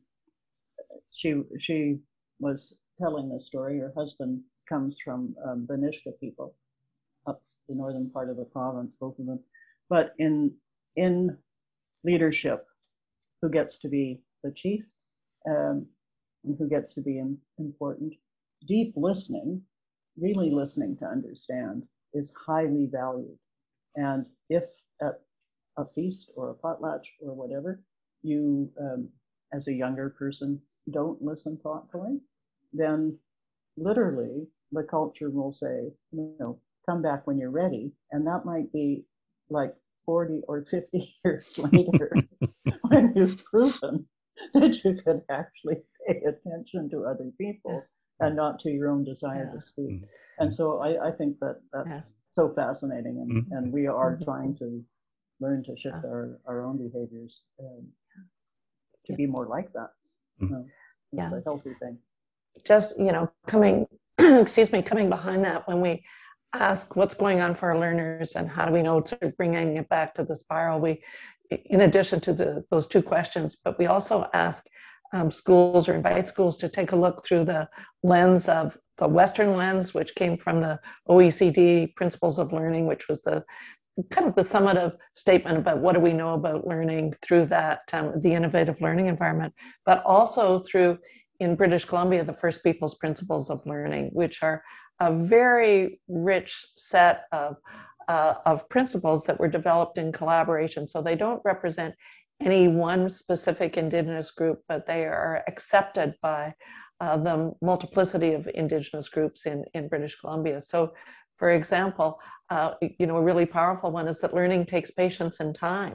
she she was telling this story. Her husband comes from um, the Nishka people, up the northern part of the province, both of them. But in in leadership, who gets to be the chief, um, and who gets to be in, important. Deep listening, really listening to understand, is highly valued. And if at a feast or a potlatch or whatever, you, um, as a younger person, don't listen thoughtfully, then literally the culture will say, you know, come back when you're ready. And that might be like forty or fifty years later when you've proven that you can actually pay attention to other people and not to your own desire yeah. to speak. Mm-hmm. And so I, I think that that's yeah. so fascinating, and, mm-hmm. and we are mm-hmm. trying to learn to shift yeah. our, our own behaviors um, to yeah. be more like that. Mm-hmm. You know, it's yeah. a healthy thing. Just, you know, coming, excuse me, coming behind that, when we ask what's going on for our learners and how do we know to bringing it back to the spiral, we, in addition to the, those two questions, but we also ask um, schools or invite schools to take a look through the lens of the Western lens, which came from the O E C D Principles of Learning, which was the kind of the summative statement about what do we know about learning through that, um, the innovative learning environment, but also through, in British Columbia, the First Peoples Principles of Learning, which are a very rich set of Uh, of principles that were developed in collaboration. So they don't represent any one specific Indigenous group, but they are accepted by uh, the multiplicity of Indigenous groups in, in British Columbia. So, for example, uh, you know, a really powerful one is that learning takes patience and time.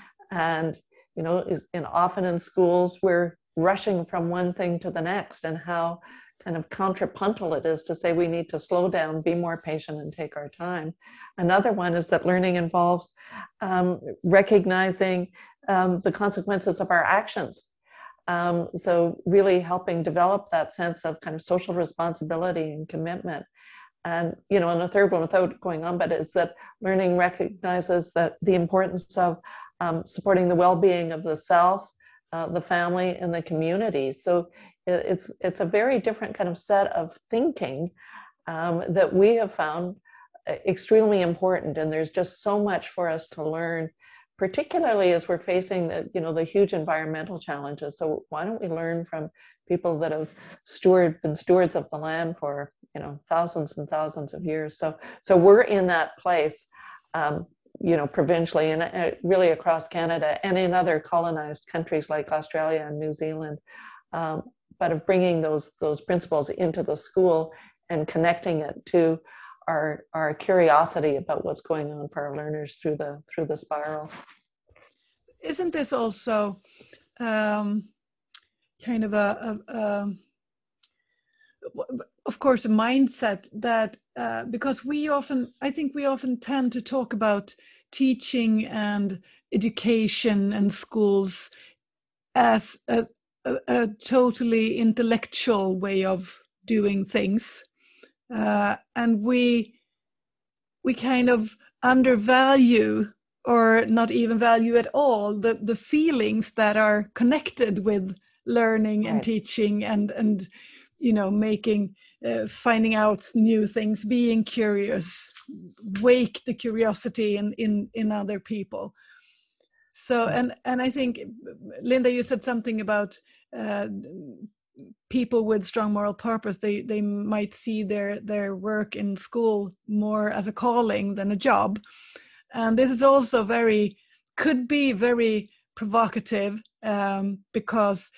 And, you know, and often in schools, we're rushing from one thing to the next, and how kind of contrapuntal it is to say we need to slow down, be more patient, and take our time. Another one is that learning involves um, recognizing um, the consequences of our actions. Um, so really helping develop that sense of kind of social responsibility and commitment. And, you know, and a third one, without going on, but is that learning recognizes that the importance of um, supporting the well-being of the self, uh, the family, and the community. So it's it's a very different kind of set of thinking um, that we have found extremely important, and there's just so much for us to learn, particularly as we're facing the, you know, the huge environmental challenges. So why don't we learn from people that have steward, been stewards of the land for, you know, thousands and thousands of years. So, so we're in that place, um, you know, provincially and uh, really across Canada and in other colonized countries like Australia and New Zealand, um, but of bringing those, those principles into the school and connecting it to our, our curiosity about what's going on for our learners through the, through the spiral. Isn't this also um, kind of a, a, a, of course, a mindset that, uh, because we often, I think we often tend to talk about teaching and education and schools as a, a, a totally intellectual way of doing things. Uh, and we, we kind of undervalue or not even value at all the, the feelings that are connected with learning and Right. teaching and, and, you know, making, uh, finding out new things, being curious, wake the curiosity in, in, in other people. So, and, and I think, Linda, you said something about uh, people with strong moral purpose. They, they might see their, their work in school more as a calling than a job. And this is also very, could be very provocative um, because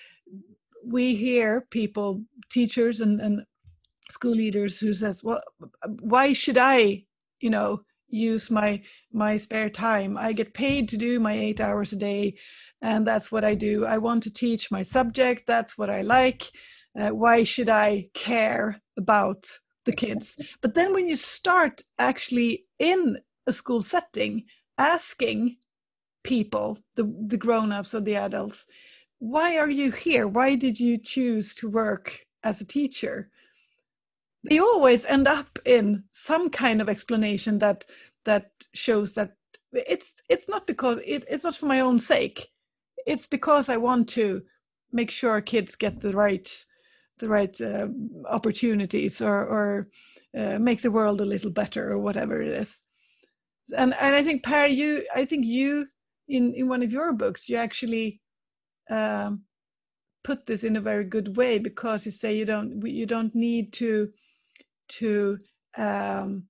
we hear people, teachers and, and school leaders who says, well, why should I, you know, use my, my spare time? I get paid to do my eight hours a day and that's what I do. I want to teach my subject. That's what I like. Uh, why should I care about the kids? But then when you start actually in a school setting, asking people, the, the grown-ups or the adults, why are you here? Why did you choose to work as a teacher? They always end up in some kind of explanation that that shows that it's it's not because it, it's not for my own sake. It's because I want to make sure kids get the right the right uh, opportunities or or uh, make the world a little better or whatever it is. And and I think Per, you I think you in in one of your books you actually um, put this in a very good way because you say you don't you don't need to to um,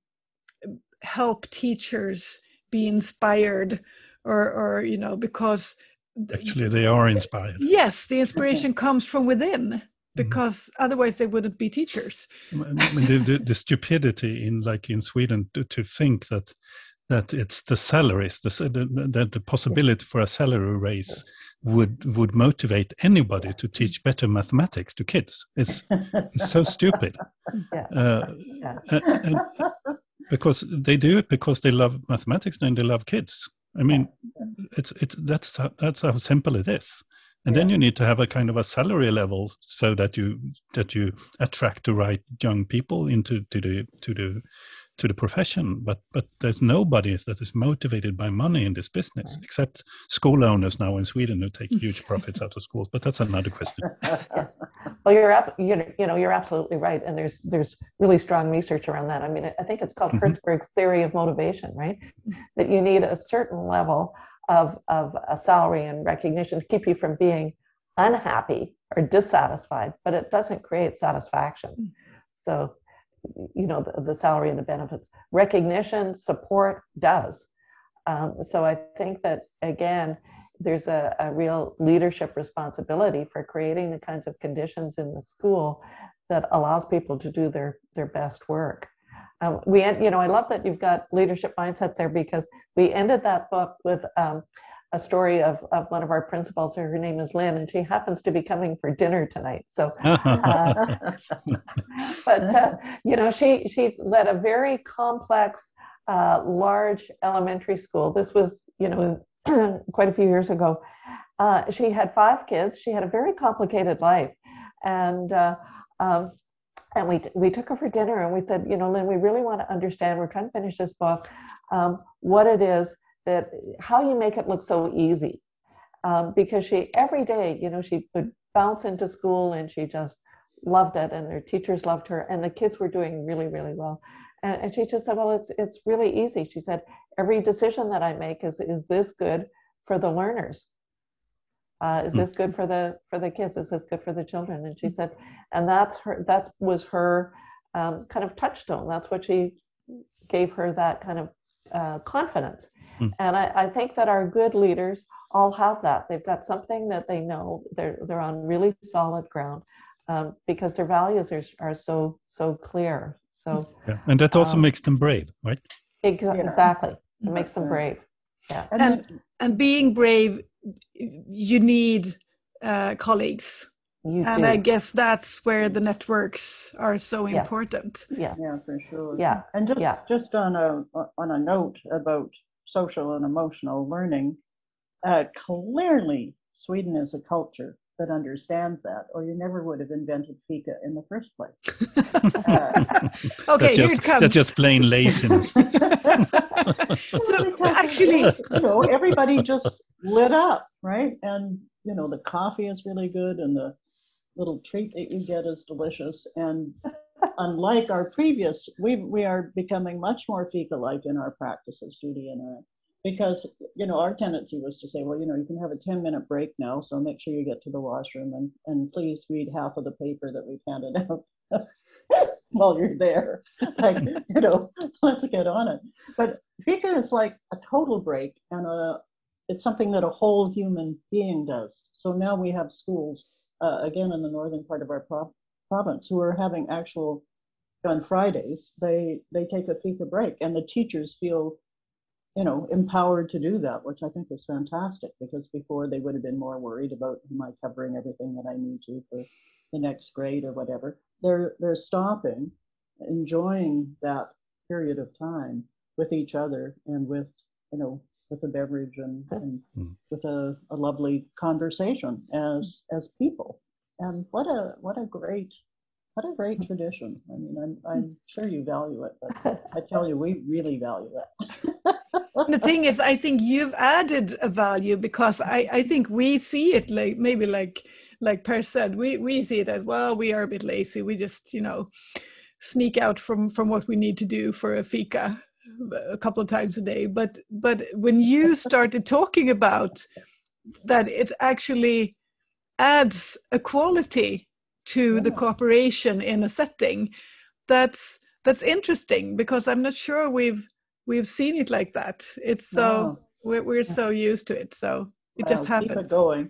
help teachers be inspired or or you know because actually they are inspired. Yes, the inspiration comes from within because mm-hmm. otherwise they wouldn't be teachers. I mean, the, the, the stupidity in like in Sweden to, to think that that it's the salaries, the, the, the possibility for a salary raise would would motivate anybody to teach better mathematics to kids. It's, it's so stupid. Yeah. Uh, yeah. and, and because they do it because they love mathematics and they love kids. I mean, it's it's that's how, that's how simple it is. And yeah. then you need to have a kind of a salary level so that you that you attract the right young people into to the to the to the profession. But but there's nobody that is motivated by money in this business, right. except school owners now in Sweden who take huge profits out of schools. But that's another question. Well, you're up, you know, you know, you're absolutely right, and there's there's really strong research around that. I mean, I think it's called mm-hmm. Hertzberg's theory of motivation, right? That you need a certain level of of a salary and recognition to keep you from being unhappy or dissatisfied, but it doesn't create satisfaction. So, you know, the, the salary and the benefits, recognition, support does. Um, so I think that again, there's a, a real leadership responsibility for creating the kinds of conditions in the school that allows people to do their, their best work. Um, we, you know, I love that you've got leadership mindsets there because we ended that book with um, a story of, of one of our principals. Her name is Lynn, and she happens to be coming for dinner tonight. So, uh, but uh, you know, she she led a very complex, uh, large elementary school. This was, you know, quite a few years ago. Uh, she had five kids. She had a very complicated life, and uh, um, and we we took her for dinner, and we said, you know, Lynn, we really want to understand. We're trying to finish this book. Um, what it is that how you make it look so easy, um, because she every day, you know, she would bounce into school, and she just loved it, and her teachers loved her, and the kids were doing really, really well. And, and she just said, well, it's it's really easy. She said, every decision that I make is, is this good for the learners? Uh, is this good for the for the kids? Is this good for the children? And she said, and that's her. That was her um, kind of touchstone. That's what she gave her that kind of uh, confidence. Mm. And I, I think that our good leaders all have that. They've got something that they know. They're they're on really solid ground um, because their values are are so so clear. So yeah. And that also um, makes them brave, right? Ex- yeah. Exactly. It That's makes them brave. Yeah. And and being brave, you need uh, colleagues. You and do. I guess that's where the networks are so yeah. important. Yeah, yeah, for sure. Yeah, and just yeah. just on a on a note about social and emotional learning, uh, clearly Sweden is a culture that understands that, or you never would have invented fika in the first place. uh, okay, that's here just, it comes. That's just plain laziness. So actually, you know, everybody just lit up, right? And you know, the coffee is really good, and the little treat that you get is delicious. And unlike our previous, we we are becoming much more fika-like in our practices, Judy and I, because you know our tendency was to say, well, you know, you can have a ten minute break now, so make sure you get to the washroom and and please read half of the paper that we've handed out while you're there. Like, you know, let's get on it. But fika is like a total break, and a it's something that a whole human being does. So now we have schools. Uh, again, in the northern part of our pro- province, who are having actual, on Fridays, they they take a fika break, and the teachers feel, you know, empowered to do that, which I think is fantastic, because before they would have been more worried about, am I covering everything that I need to for the next grade or whatever. They're they're stopping, enjoying that period of time with each other and with, you know, with a beverage and, and mm. with a, a lovely conversation as as people. And what a what a great what a great tradition. I mean, I'm I'm sure you value it, but I tell you, we really value it. The thing is, I think you've added a value, because I, I think we see it like maybe like like Per said, we, we see it as, well, we are a bit lazy. We just, you know, sneak out from, from what we need to do for a fika a couple of times a day. But but when you started talking about that, it actually adds a quality to yeah. the cooperation in a setting, that's that's interesting, because I'm not sure we've we've seen it like that. It's so no. we're we're so used to it, so it well, just happens. Keep it going.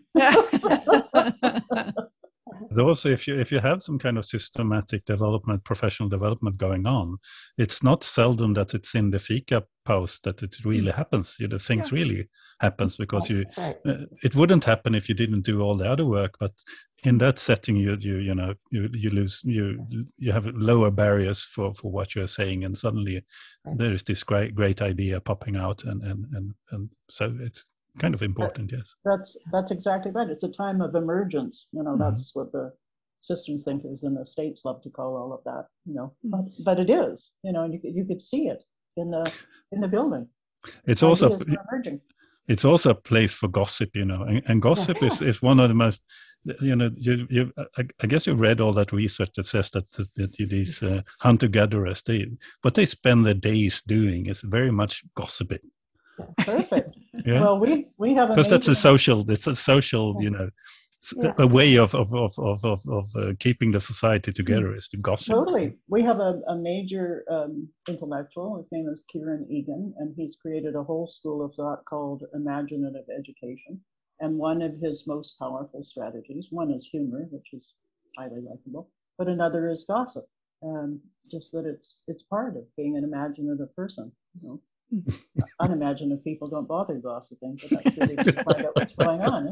Also, if you if you have some kind of systematic development, professional development going on, it's not seldom that it's in the fika post that it really mm. happens. You know, things yeah. really happens, because you right. uh, it wouldn't happen if you didn't do all the other work. But in that setting, you you you know you you lose you you have lower barriers for, for what you're saying, and suddenly right. there is this great great idea popping out, and and and, and so it's kind of important. That, yes, that's that's exactly right. It's a time of emergence. You know, mm-hmm. that's what the systems thinkers in the States love to call all of that. You know, mm-hmm. but but it is. You know, and you you could see it in the in the building. It's Ideas also emerging. It's also a place for gossip, you know, and, and gossip yeah. is, is one of the most, you know, you, you I, I guess you read all that research that says that, that, that these uh, hunter-gatherers, they, what they spend their days doing is very much gossiping. Perfect. Yeah? Well, we we have because that's a social, it's a social, you know, yeah. a way of of of of of, of uh, keeping the society together is to gossip. Totally. We have a, a major um, intellectual. His name is Kieran Egan, and he's created a whole school of thought called imaginative education. And one of his most powerful strategies, one is humor, which is highly likable, but another is gossip. And just that it's it's part of being an imaginative person. You know, unimaginative people don't bother gossiping, but that's really to find out what's going on.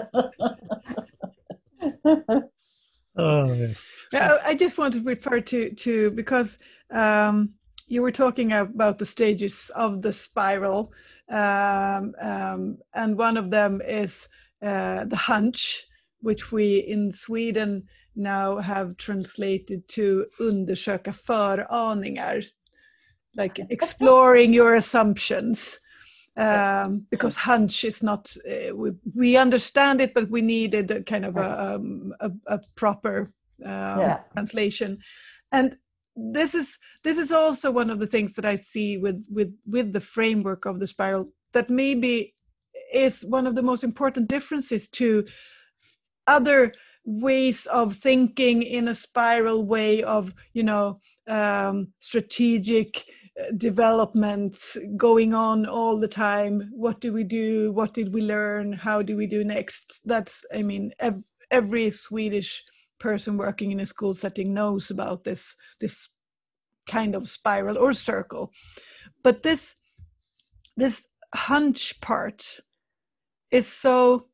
Oh, yes. Yeah, I just want to refer to to because um, you were talking about the stages of the spiral, um, um, and one of them is uh, the hunch, which we in Sweden now have translated to undersöka föraningar, like exploring your assumptions. Um, because hunch is not, uh, we, we understand it, but we needed a kind of a, um, a, a proper um, yeah. translation. And this is this is also one of the things that I see with with with the framework of the spiral, that maybe is one of the most important differences to other ways of thinking in a spiral way of, you know, um, strategic development going on all the time. What do we do? What did we learn? How do we do next? That's, I mean, ev- every Swedish person working in a school setting knows about this, this kind of spiral or circle. But this, this hunch part is so,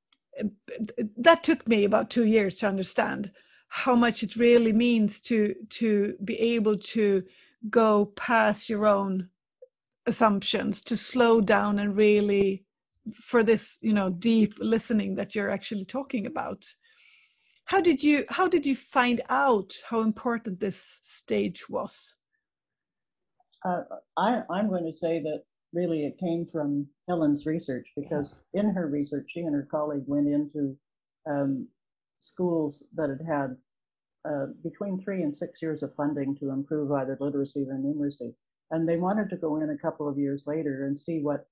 that took me about two years to understand how much it really means to, to be able to go past your own assumptions, to slow down and really, for this, you know, deep listening that you're actually talking about. How did you, how did you find out how important this stage was? Uh, I, I'm going to say that really it came from Helen's research, because in her research, she and her colleague went into um, schools that had had uh, between three and six years of funding to improve either literacy or numeracy. And they wanted to go in a couple of years later and see what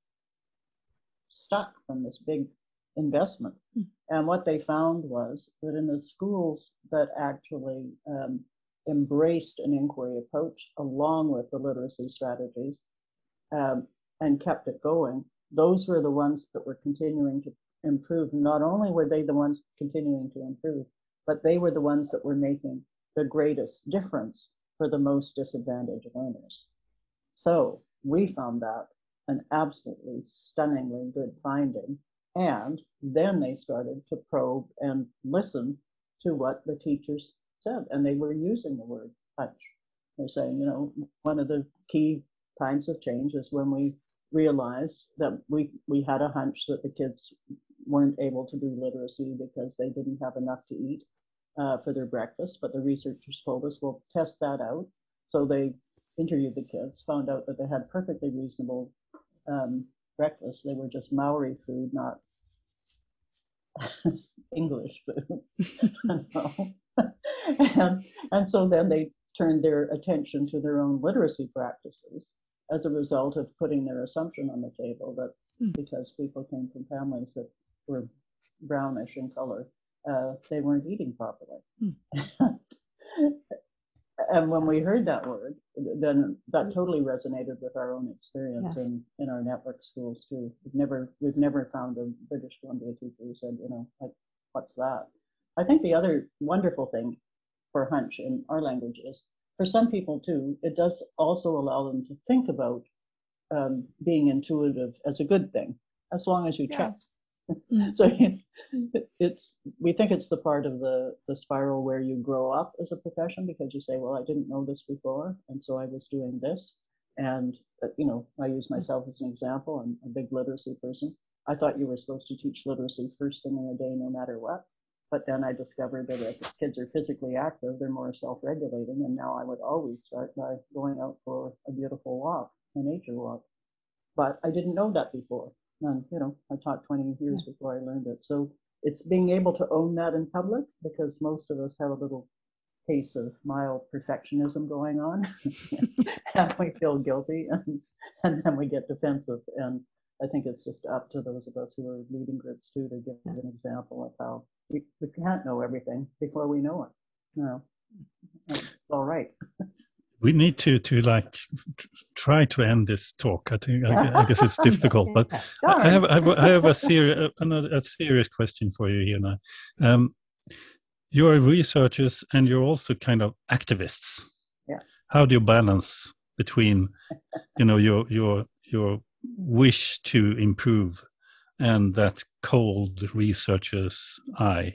stuck from this big investment. Mm. And what they found was that in the schools that actually um, embraced an inquiry approach along with the literacy strategies um, and kept it going, those were the ones that were continuing to improve. Not only were they the ones continuing to improve, but they were the ones that were making the greatest difference for the most disadvantaged learners. So we found that an absolutely stunningly good finding. And then they started to probe and listen to what the teachers said. And they were using the word hunch. They're saying, you know, one of the key times of change is when we realized that we, we had a hunch that the kids weren't able to do literacy because they didn't have enough to eat uh, for their breakfast. But the researchers told us, we'll test that out. So they interviewed the kids, found out that they had perfectly reasonable um, breakfast. They were just Maori food, not English food. and, and so then they turned their attention to their own literacy practices as a result of putting their assumption on the table that mm. because people came from families that were brownish in color, uh, they weren't eating properly. Mm. And when we heard that word, then that totally resonated with our own experience yeah. in, in our network schools too. We've never we've never found a British Columbia teacher who said, you know, like, what's that? I think the other wonderful thing for hunch in our language is, for some people too, it does also allow them to think about um, being intuitive as a good thing, as long as you yeah. check. So it's, we think it's the part of the, the spiral where you grow up as a profession, because you say, well, I didn't know this before, and so I was doing this. And, uh, you know, I use myself as an example. I'm a big literacy person. I thought you were supposed to teach literacy first thing in the day, no matter what. But then I discovered that if kids are physically active, they're more self-regulating. And now I would always start by going out for a beautiful walk, a nature walk. But I didn't know that before. And, you know, I taught twenty years yeah. before I learned it. So it's being able to own that in public, because most of us have a little case of mild perfectionism going on. And we feel guilty, and, and then we get defensive. And I think it's just up to those of us who are leading groups too to give yeah. an example of how we, we can't know everything before we know it. You know, it's all right. We need to to like try to end this talk. I think I, I guess it's difficult, but I have I have, I have a serious another a serious question for you here now. Um, you're researchers and you're also kind of activists. Yeah. How do you balance between, you know, your your your wish to improve and that cold researcher's eye?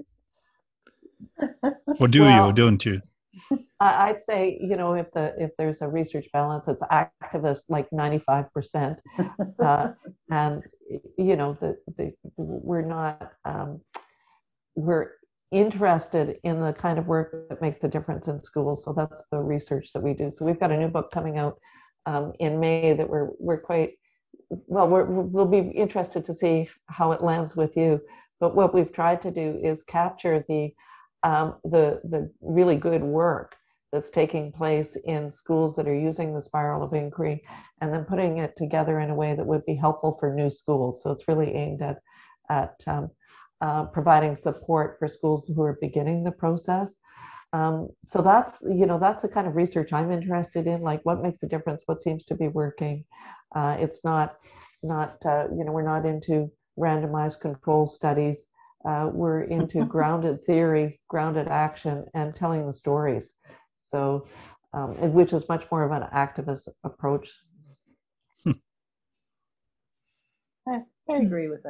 Or do well, you? Don't you? I'd say, you know, if the if there's a research balance, it's activist like ninety-five percent, uh, and you know, the, the we're not um, we're interested in the kind of work that makes the difference in schools. So that's the research that we do. So we've got a new book coming out um, in May that we're we're quite well. We're, we'll be interested to see how it lands with you. But what we've tried to do is capture the um, the the really good work that's taking place in schools that are using the spiral of inquiry, and then putting it together in a way that would be helpful for new schools. So it's really aimed at, at um, uh, providing support for schools who are beginning the process. Um, so that's, you know, that's the kind of research I'm interested in, like what makes a difference, what seems to be working. Uh, it's not, not uh, you know, we're not into randomized control studies. Uh, we're into grounded theory, grounded action, and telling the stories. So, um, which is much more of an activist approach. I, I agree with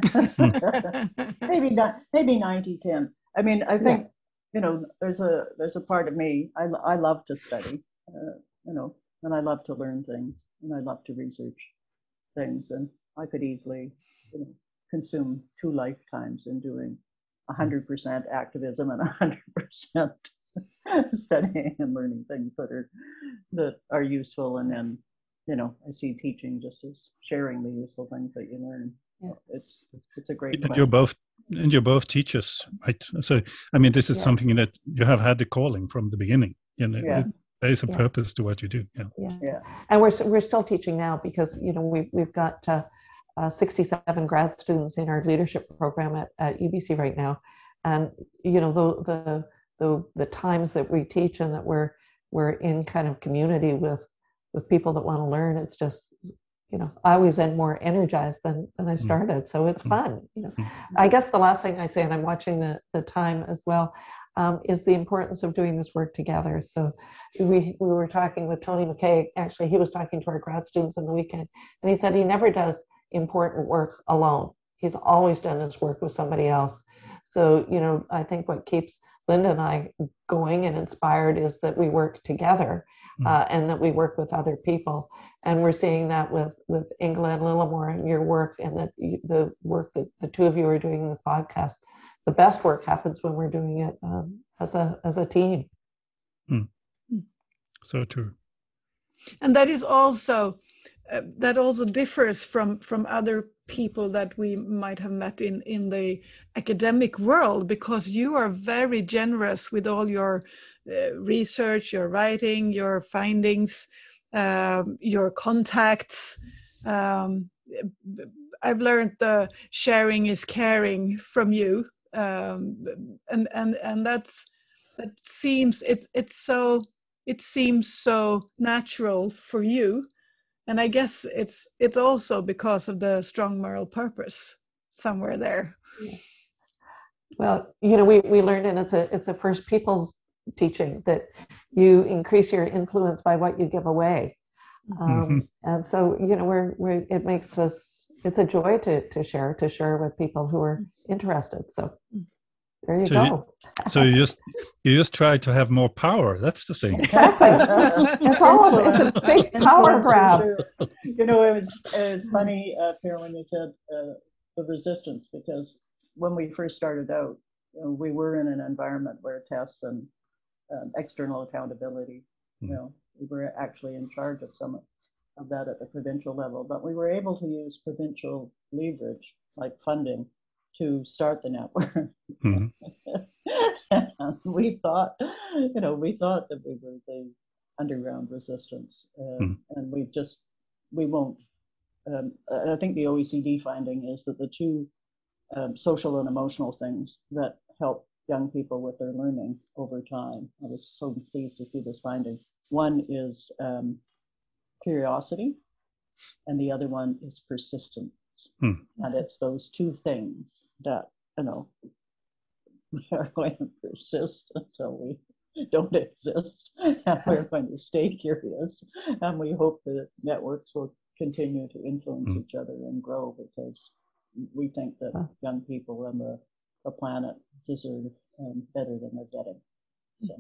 that. maybe not, maybe ninety ten. I mean, I think, yeah. you know, there's a there's a part of me. I I love to study, uh, you know, and I love to learn things, and I love to research things, and I could easily, you know, consume two lifetimes in doing one hundred percent activism and one hundred percent studying and learning things that are that are useful, and then, you know, I see teaching just as sharing the useful things that you learn. Yeah. It's it's a great. And you're both and you're both teachers, right? So I mean, this is yeah. something that you have had the calling from the beginning. You know, yeah. there is a yeah. purpose to what you do. Yeah. yeah, yeah. And we're we're still teaching now because, you know, we we've got uh, uh, sixty-seven grad students in our leadership program at, at U B C right now, and you know the the the the times that we teach and that we're we're in kind of community with with people that want to learn. It's just, you know, I always end more energized than, than I started. So it's fun. You know, I guess the last thing I say, and I'm watching the, the time as well, um, is the importance of doing this work together. So we, we were talking with Tony McKay, actually, he was talking to our grad students on the weekend, and he said he never does important work alone. He's always done his work with somebody else. So, you know, I think what keeps Linda and I going and inspired is that we work together. Uh, and that we work with other people, and we're seeing that with with Ingela and Lillimore and your work, and that the work that the two of you are doing in this podcast. The best work happens when we're doing it um, as a as a team. Mm. So true. And that is also uh, that also differs from from other people that we might have met in in the academic world, because you are very generous with all your Uh, research, your writing, your findings, um, your contacts. Um, I've learned the sharing is caring from you, um, and and and that's that seems it's it's so it seems so natural for you, and I guess it's it's also because of the strong moral purpose somewhere there. Well, you know, we we learned, and it's a it's a First Peoples teaching, that you increase your influence by what you give away. Um, mm-hmm. And so, you know, we're, we're, it makes us, it's a joy to, to share, to share with people who are interested. So there you so go. You, so you just, you just try to have more power. That's the thing. Exactly. It's all of it. It's a big power grab. You know, it was, it was funny, uh, Pierre, when you said uh, the resistance, because when we first started out, you know, we were in an environment where tests and Um, external accountability, you know, we were actually in charge of some of that at the provincial level, but we were able to use provincial leverage, like funding, to start the network. Mm-hmm. And we thought, you know, we thought that we were the underground resistance, uh, mm-hmm. and we just, we won't. Um, I think the O E C D finding is that the two um, social and emotional things that help young people with their learning over time. I was so pleased to see this finding. One is um, curiosity, and the other one is persistence. Hmm. And it's those two things that, you know, we are going to persist until we don't exist, and we're going to stay curious, and we hope that networks will continue to influence hmm. each other and grow, because we think that young people and the the planet deserve um, better than they're getting. So.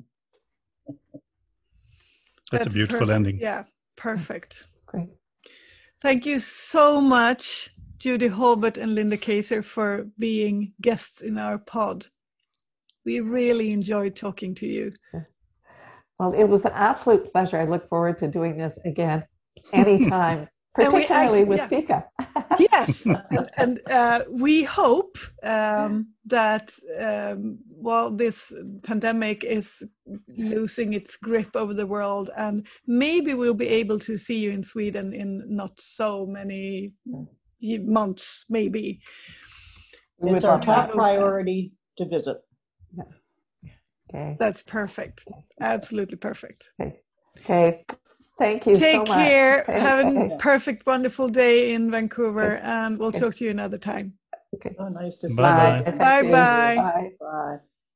That's, That's a beautiful perfect. ending. Yeah, perfect. Great. Thank you so much, Judy Holbert and Linda Kacer, for being guests in our pod. We really enjoyed talking to you. Well, it was an absolute pleasure. I look forward to doing this again anytime, particularly actually, with yeah. Fika. Yes, and, and uh, we hope um, that um, while this pandemic is losing its grip over the world, and maybe we'll be able to see you in Sweden in not so many months, maybe. It's our top priority to visit. Yeah. Okay. That's perfect. Absolutely perfect. Okay. Okay. Thank you Take so much. care. Okay. Have a Okay. perfect, wonderful day in Vancouver, Okay. and we'll Okay. talk to you another time. Okay. Oh, nice to see Bye-bye. you. Thank Bye you. bye. Bye. Bye.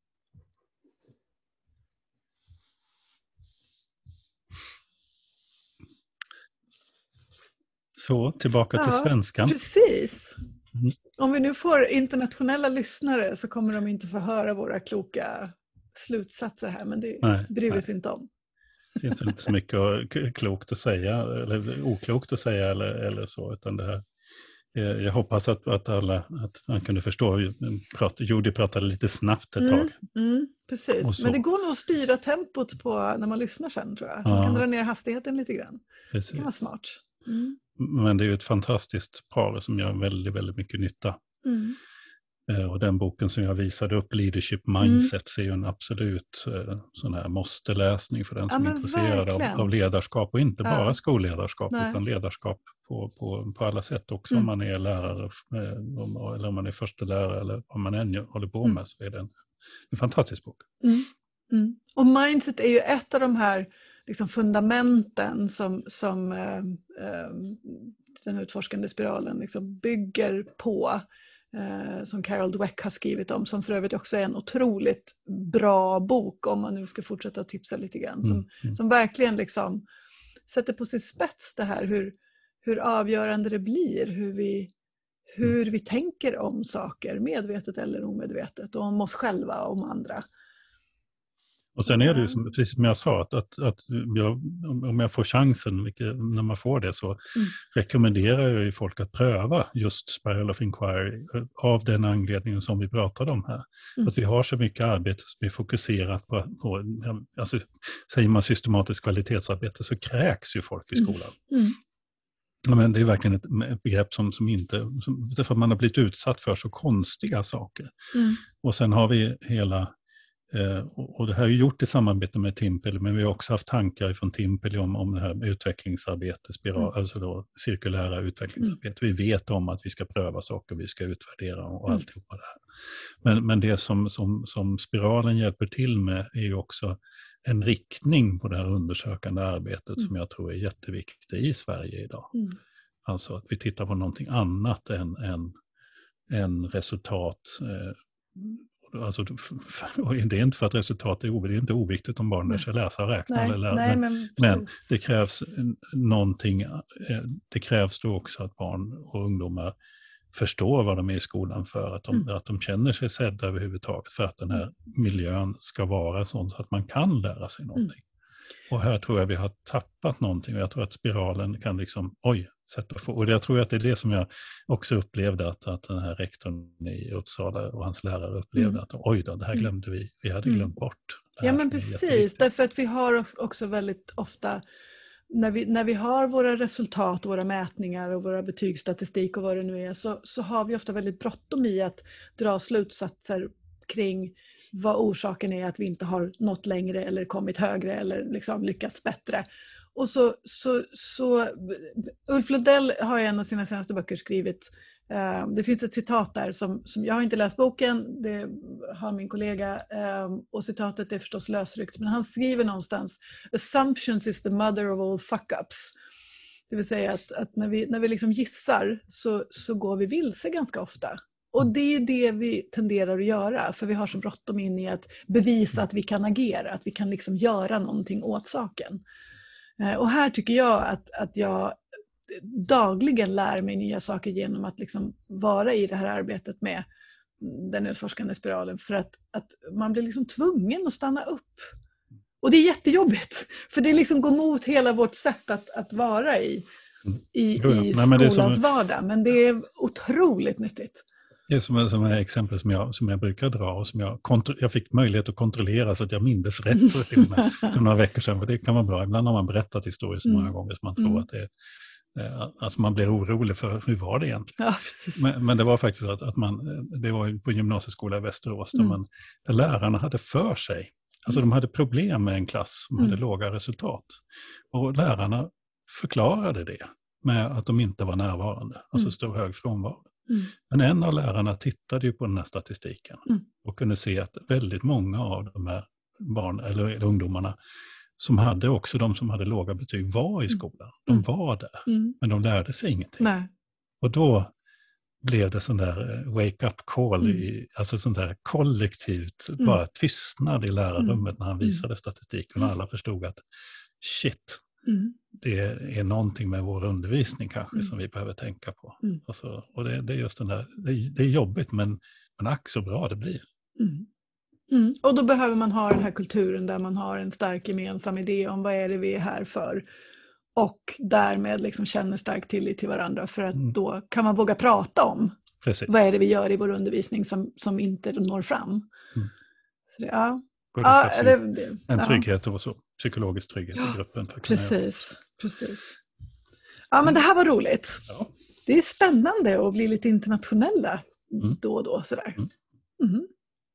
Så, tillbaka till Ja, svenskan. precis. Mm. Om vi nu får internationella lyssnare så kommer de inte få höra våra kloka slutsatser här, men det Nej, bryr vi nej. oss inte om. Det finns väl inte så mycket k- klokt att säga, eller oklokt att säga eller, eller så, utan det här. eh, Jag hoppas att, att alla, att man kunde förstå. Prat, Judy pratade lite snabbt ett Mm, tag. mm, Och precis, så. men det går nog att styra tempot på när man lyssnar sen, tror jag. Man Ja. kan dra ner hastigheten lite grann. Det Precis. kan vara smart. Mm. Men det är ju ett fantastiskt par som gör väldigt, väldigt mycket nytta. Mm. Eh, Och den boken som jag visade upp, Leadership Mindsets, är ju en absolut eh, sån här måste-läsning för den Ja, som är men intresserad av, verkligen. av ledarskap. Och inte Ja. bara skolledarskap, Nej. utan ledarskap på, på, på alla sätt också. Mm. Om man är lärare, eh, om- eller om man är förstelärare, eller vad man än gör- håller på Mm. med, så är det en, en fantastisk bok. Mm. Mm. Och mindset är ju ett av de här liksom fundamenten som, som eh, eh, den utforskande spiralen liksom bygger på, eh, som Carol Dweck har skrivit om, som för övrigt också är en otroligt bra bok, om man nu ska fortsätta tipsa lite grann, som, Mm. Mm. som verkligen liksom sätter på sin spets det här hur, hur avgörande det blir, hur vi, hur vi tänker om saker, medvetet eller omedvetet, och om oss själva och om andra. Och sen är det ju som, precis som jag sa, att, att, att jag, om jag får chansen, vilket, när man får det, så Mm. rekommenderar jag ju folk att pröva just Spiral of Inquiry av den anledningen som vi pratade om här. Mm. Att vi har så mycket arbete som är fokuserat på, på alltså, säger man systematiskt kvalitetsarbete, så kräks ju folk i skolan. Mm. Ja, men det är verkligen ett, ett begrepp som, som inte, som, därför att man har blivit utsatt för så konstiga saker. Mm. Och sen har vi hela, eh, och, och det här är gjort i samarbete med Timpel, men vi har också haft tankar från Timpel om, om det här utvecklingsarbete, spiral, Mm. alltså då cirkulära utvecklingsarbete. Mm. Vi vet om att vi ska pröva saker, vi ska utvärdera och Mm. alltihopa det här. Men, men det som, som, som spiralen hjälper till med är ju också en riktning på det här undersökande arbetet mm. som jag tror är jätteviktigt i Sverige idag. Mm. Alltså att vi tittar på någonting annat än, än, än resultat. Eh, alltså, och det är inte för att resultat är oviktigt, det är inte oviktigt om barn lär sig läsa och räkna. Nej, eller lära, nej, men, men, men det krävs någonting, det krävs då också att barn och ungdomar förstår vad de är i skolan för, att de, mm. att de känner sig sedda överhuvudtaget, för att den här miljön ska vara sån så att man kan lära sig någonting. Mm. Och här tror jag vi har tappat någonting, och jag tror att spiralen kan liksom, oj, sätta få. Och jag tror att det är det som jag också upplevde att, att den här rektorn i Uppsala och hans lärare upplevde, mm. att oj då, det här glömde vi, vi hade glömt mm. bort. Ja, men precis, därför att vi har också väldigt ofta, När vi, när vi har våra resultat, våra mätningar och våra betygsstatistik och vad det nu är, så, så har vi ofta väldigt bråttom i att dra slutsatser kring vad orsaken är att vi inte har nått längre eller kommit högre eller liksom lyckats bättre. Och så, så, så Ulf Lundell har i en av sina senaste böcker skrivit, uh, det finns ett citat där som, som jag har inte läst boken, det har min kollega, uh, och citatet är förstås lösryckt, men han skriver någonstans: assumptions is the mother of all fuck-ups. Det vill säga att, att när vi, när vi liksom gissar så, så går vi vilse ganska ofta. Och det är ju det vi tenderar att göra, för vi har så bråttom in i att bevisa att vi kan agera, att vi kan liksom göra någonting åt saken. Uh, och här tycker jag att, att jag dagligen lär mig nya saker genom att liksom vara i det här arbetet med den utforskande spiralen, för att, att man blir liksom tvungen att stanna upp. Och det är jättejobbigt, för det liksom går mot hela vårt sätt att, att vara i, i, jo, ja. i Nej, men det är skolans som, vardag, men det är otroligt nyttigt. Det är som, som är exempel som jag, som jag brukar dra, och som jag, kontro- jag fick möjlighet att kontrollera så att jag mindes rätt till och med för några veckor sedan, för det kan vara bra. Ibland har man berättat historier så många mm. gånger som man tror mm. att det är Alltså man blir orolig för hur var det egentligen. Ja, precis. Men, men det var faktiskt att, att man, det var på gymnasieskola i Västerås där, Mm. man, där lärarna hade för sig. Alltså de hade problem med en klass som Mm. hade låga resultat. Och lärarna förklarade det med att de inte var närvarande, alltså Mm. stor hög frånvaro. Mm. Men en av lärarna tittade ju på den här statistiken Mm. och kunde se att väldigt många av de här barn, eller, eller ungdomarna som hade också de som hade låga betyg var i skolan. De Mm. var där, Mm. men de lärde sig ingenting. Nej. Och då blev det sån där wake-up call, Mm. i, alltså sån där kollektivt, Mm. bara tystnad i lärarrummet när han Mm. visade statistiken och alla förstod att shit, Mm. det är någonting med vår undervisning kanske Mm. som vi behöver tänka på. Mm. Alltså, och det, det är just den där, det är, det är jobbigt men, men ack så bra det blir. Mm. Mm. Och då behöver man ha den här kulturen där man har en stark gemensam idé om vad är det vi är här för. Och därmed liksom känner stark tillit till varandra, för att Mm. då kan man våga prata om Precis. vad är det vi gör i vår undervisning som, som inte når fram. Mm. Så det, ja. Och det Ja, krävs det, ju det, en ja. trygghet och så, psykologisk trygghet i gruppen. För att kunna göra. Precis, precis. Ja, men det här var roligt. Ja. Det är spännande att bli lite internationella Mm. då och då. Sådär. Mm. Mhm.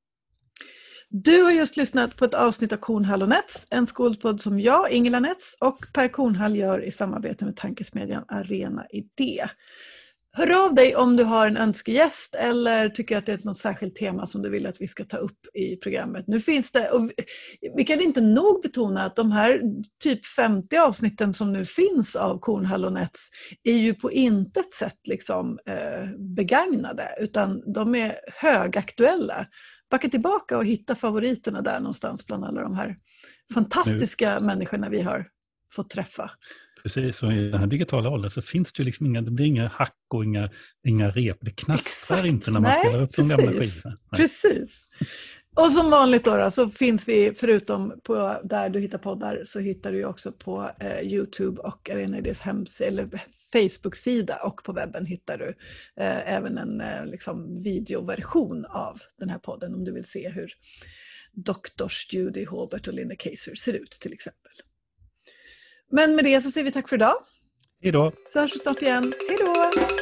Du har just lyssnat på ett avsnitt av Kornhall och Nets, en skolpodd som jag, Ingela Nets, och Per Kornhall gör i samarbete med tankesmedjan Arena Idé. Hör av dig om du har en önskegäst eller tycker att det är något särskilt tema som du vill att vi ska ta upp i programmet. Nu finns det, och vi kan inte nog betona att de här typ femtio avsnitten som nu finns av Kornhall och Nets är ju på intet sätt liksom, eh, begagnade, utan de är högaktuella. Backa tillbaka och hitta favoriterna där någonstans bland alla de här fantastiska nu. människorna vi har fått träffa. Precis, och i den här digitala åldern så finns det ju liksom inga, det blir inga hack och inga, inga rep. Det knastrar Exakt. inte när man Nej, spelar upp precis. de gamla skivorna. Nej. Precis. Och som vanligt då, då så finns vi, förutom på där du hittar poddar, så hittar du ju också på eh, YouTube och Arena Idés hemsida eller Facebook-sida, och på webben hittar du eh, även en eh, liksom videoversion av den här podden om du vill se hur doktors Judy Hobert och Linda Kaiser ser ut till exempel. Men med det så säger vi tack för idag. Hej då! Så hörs vi snart igen. Hej då!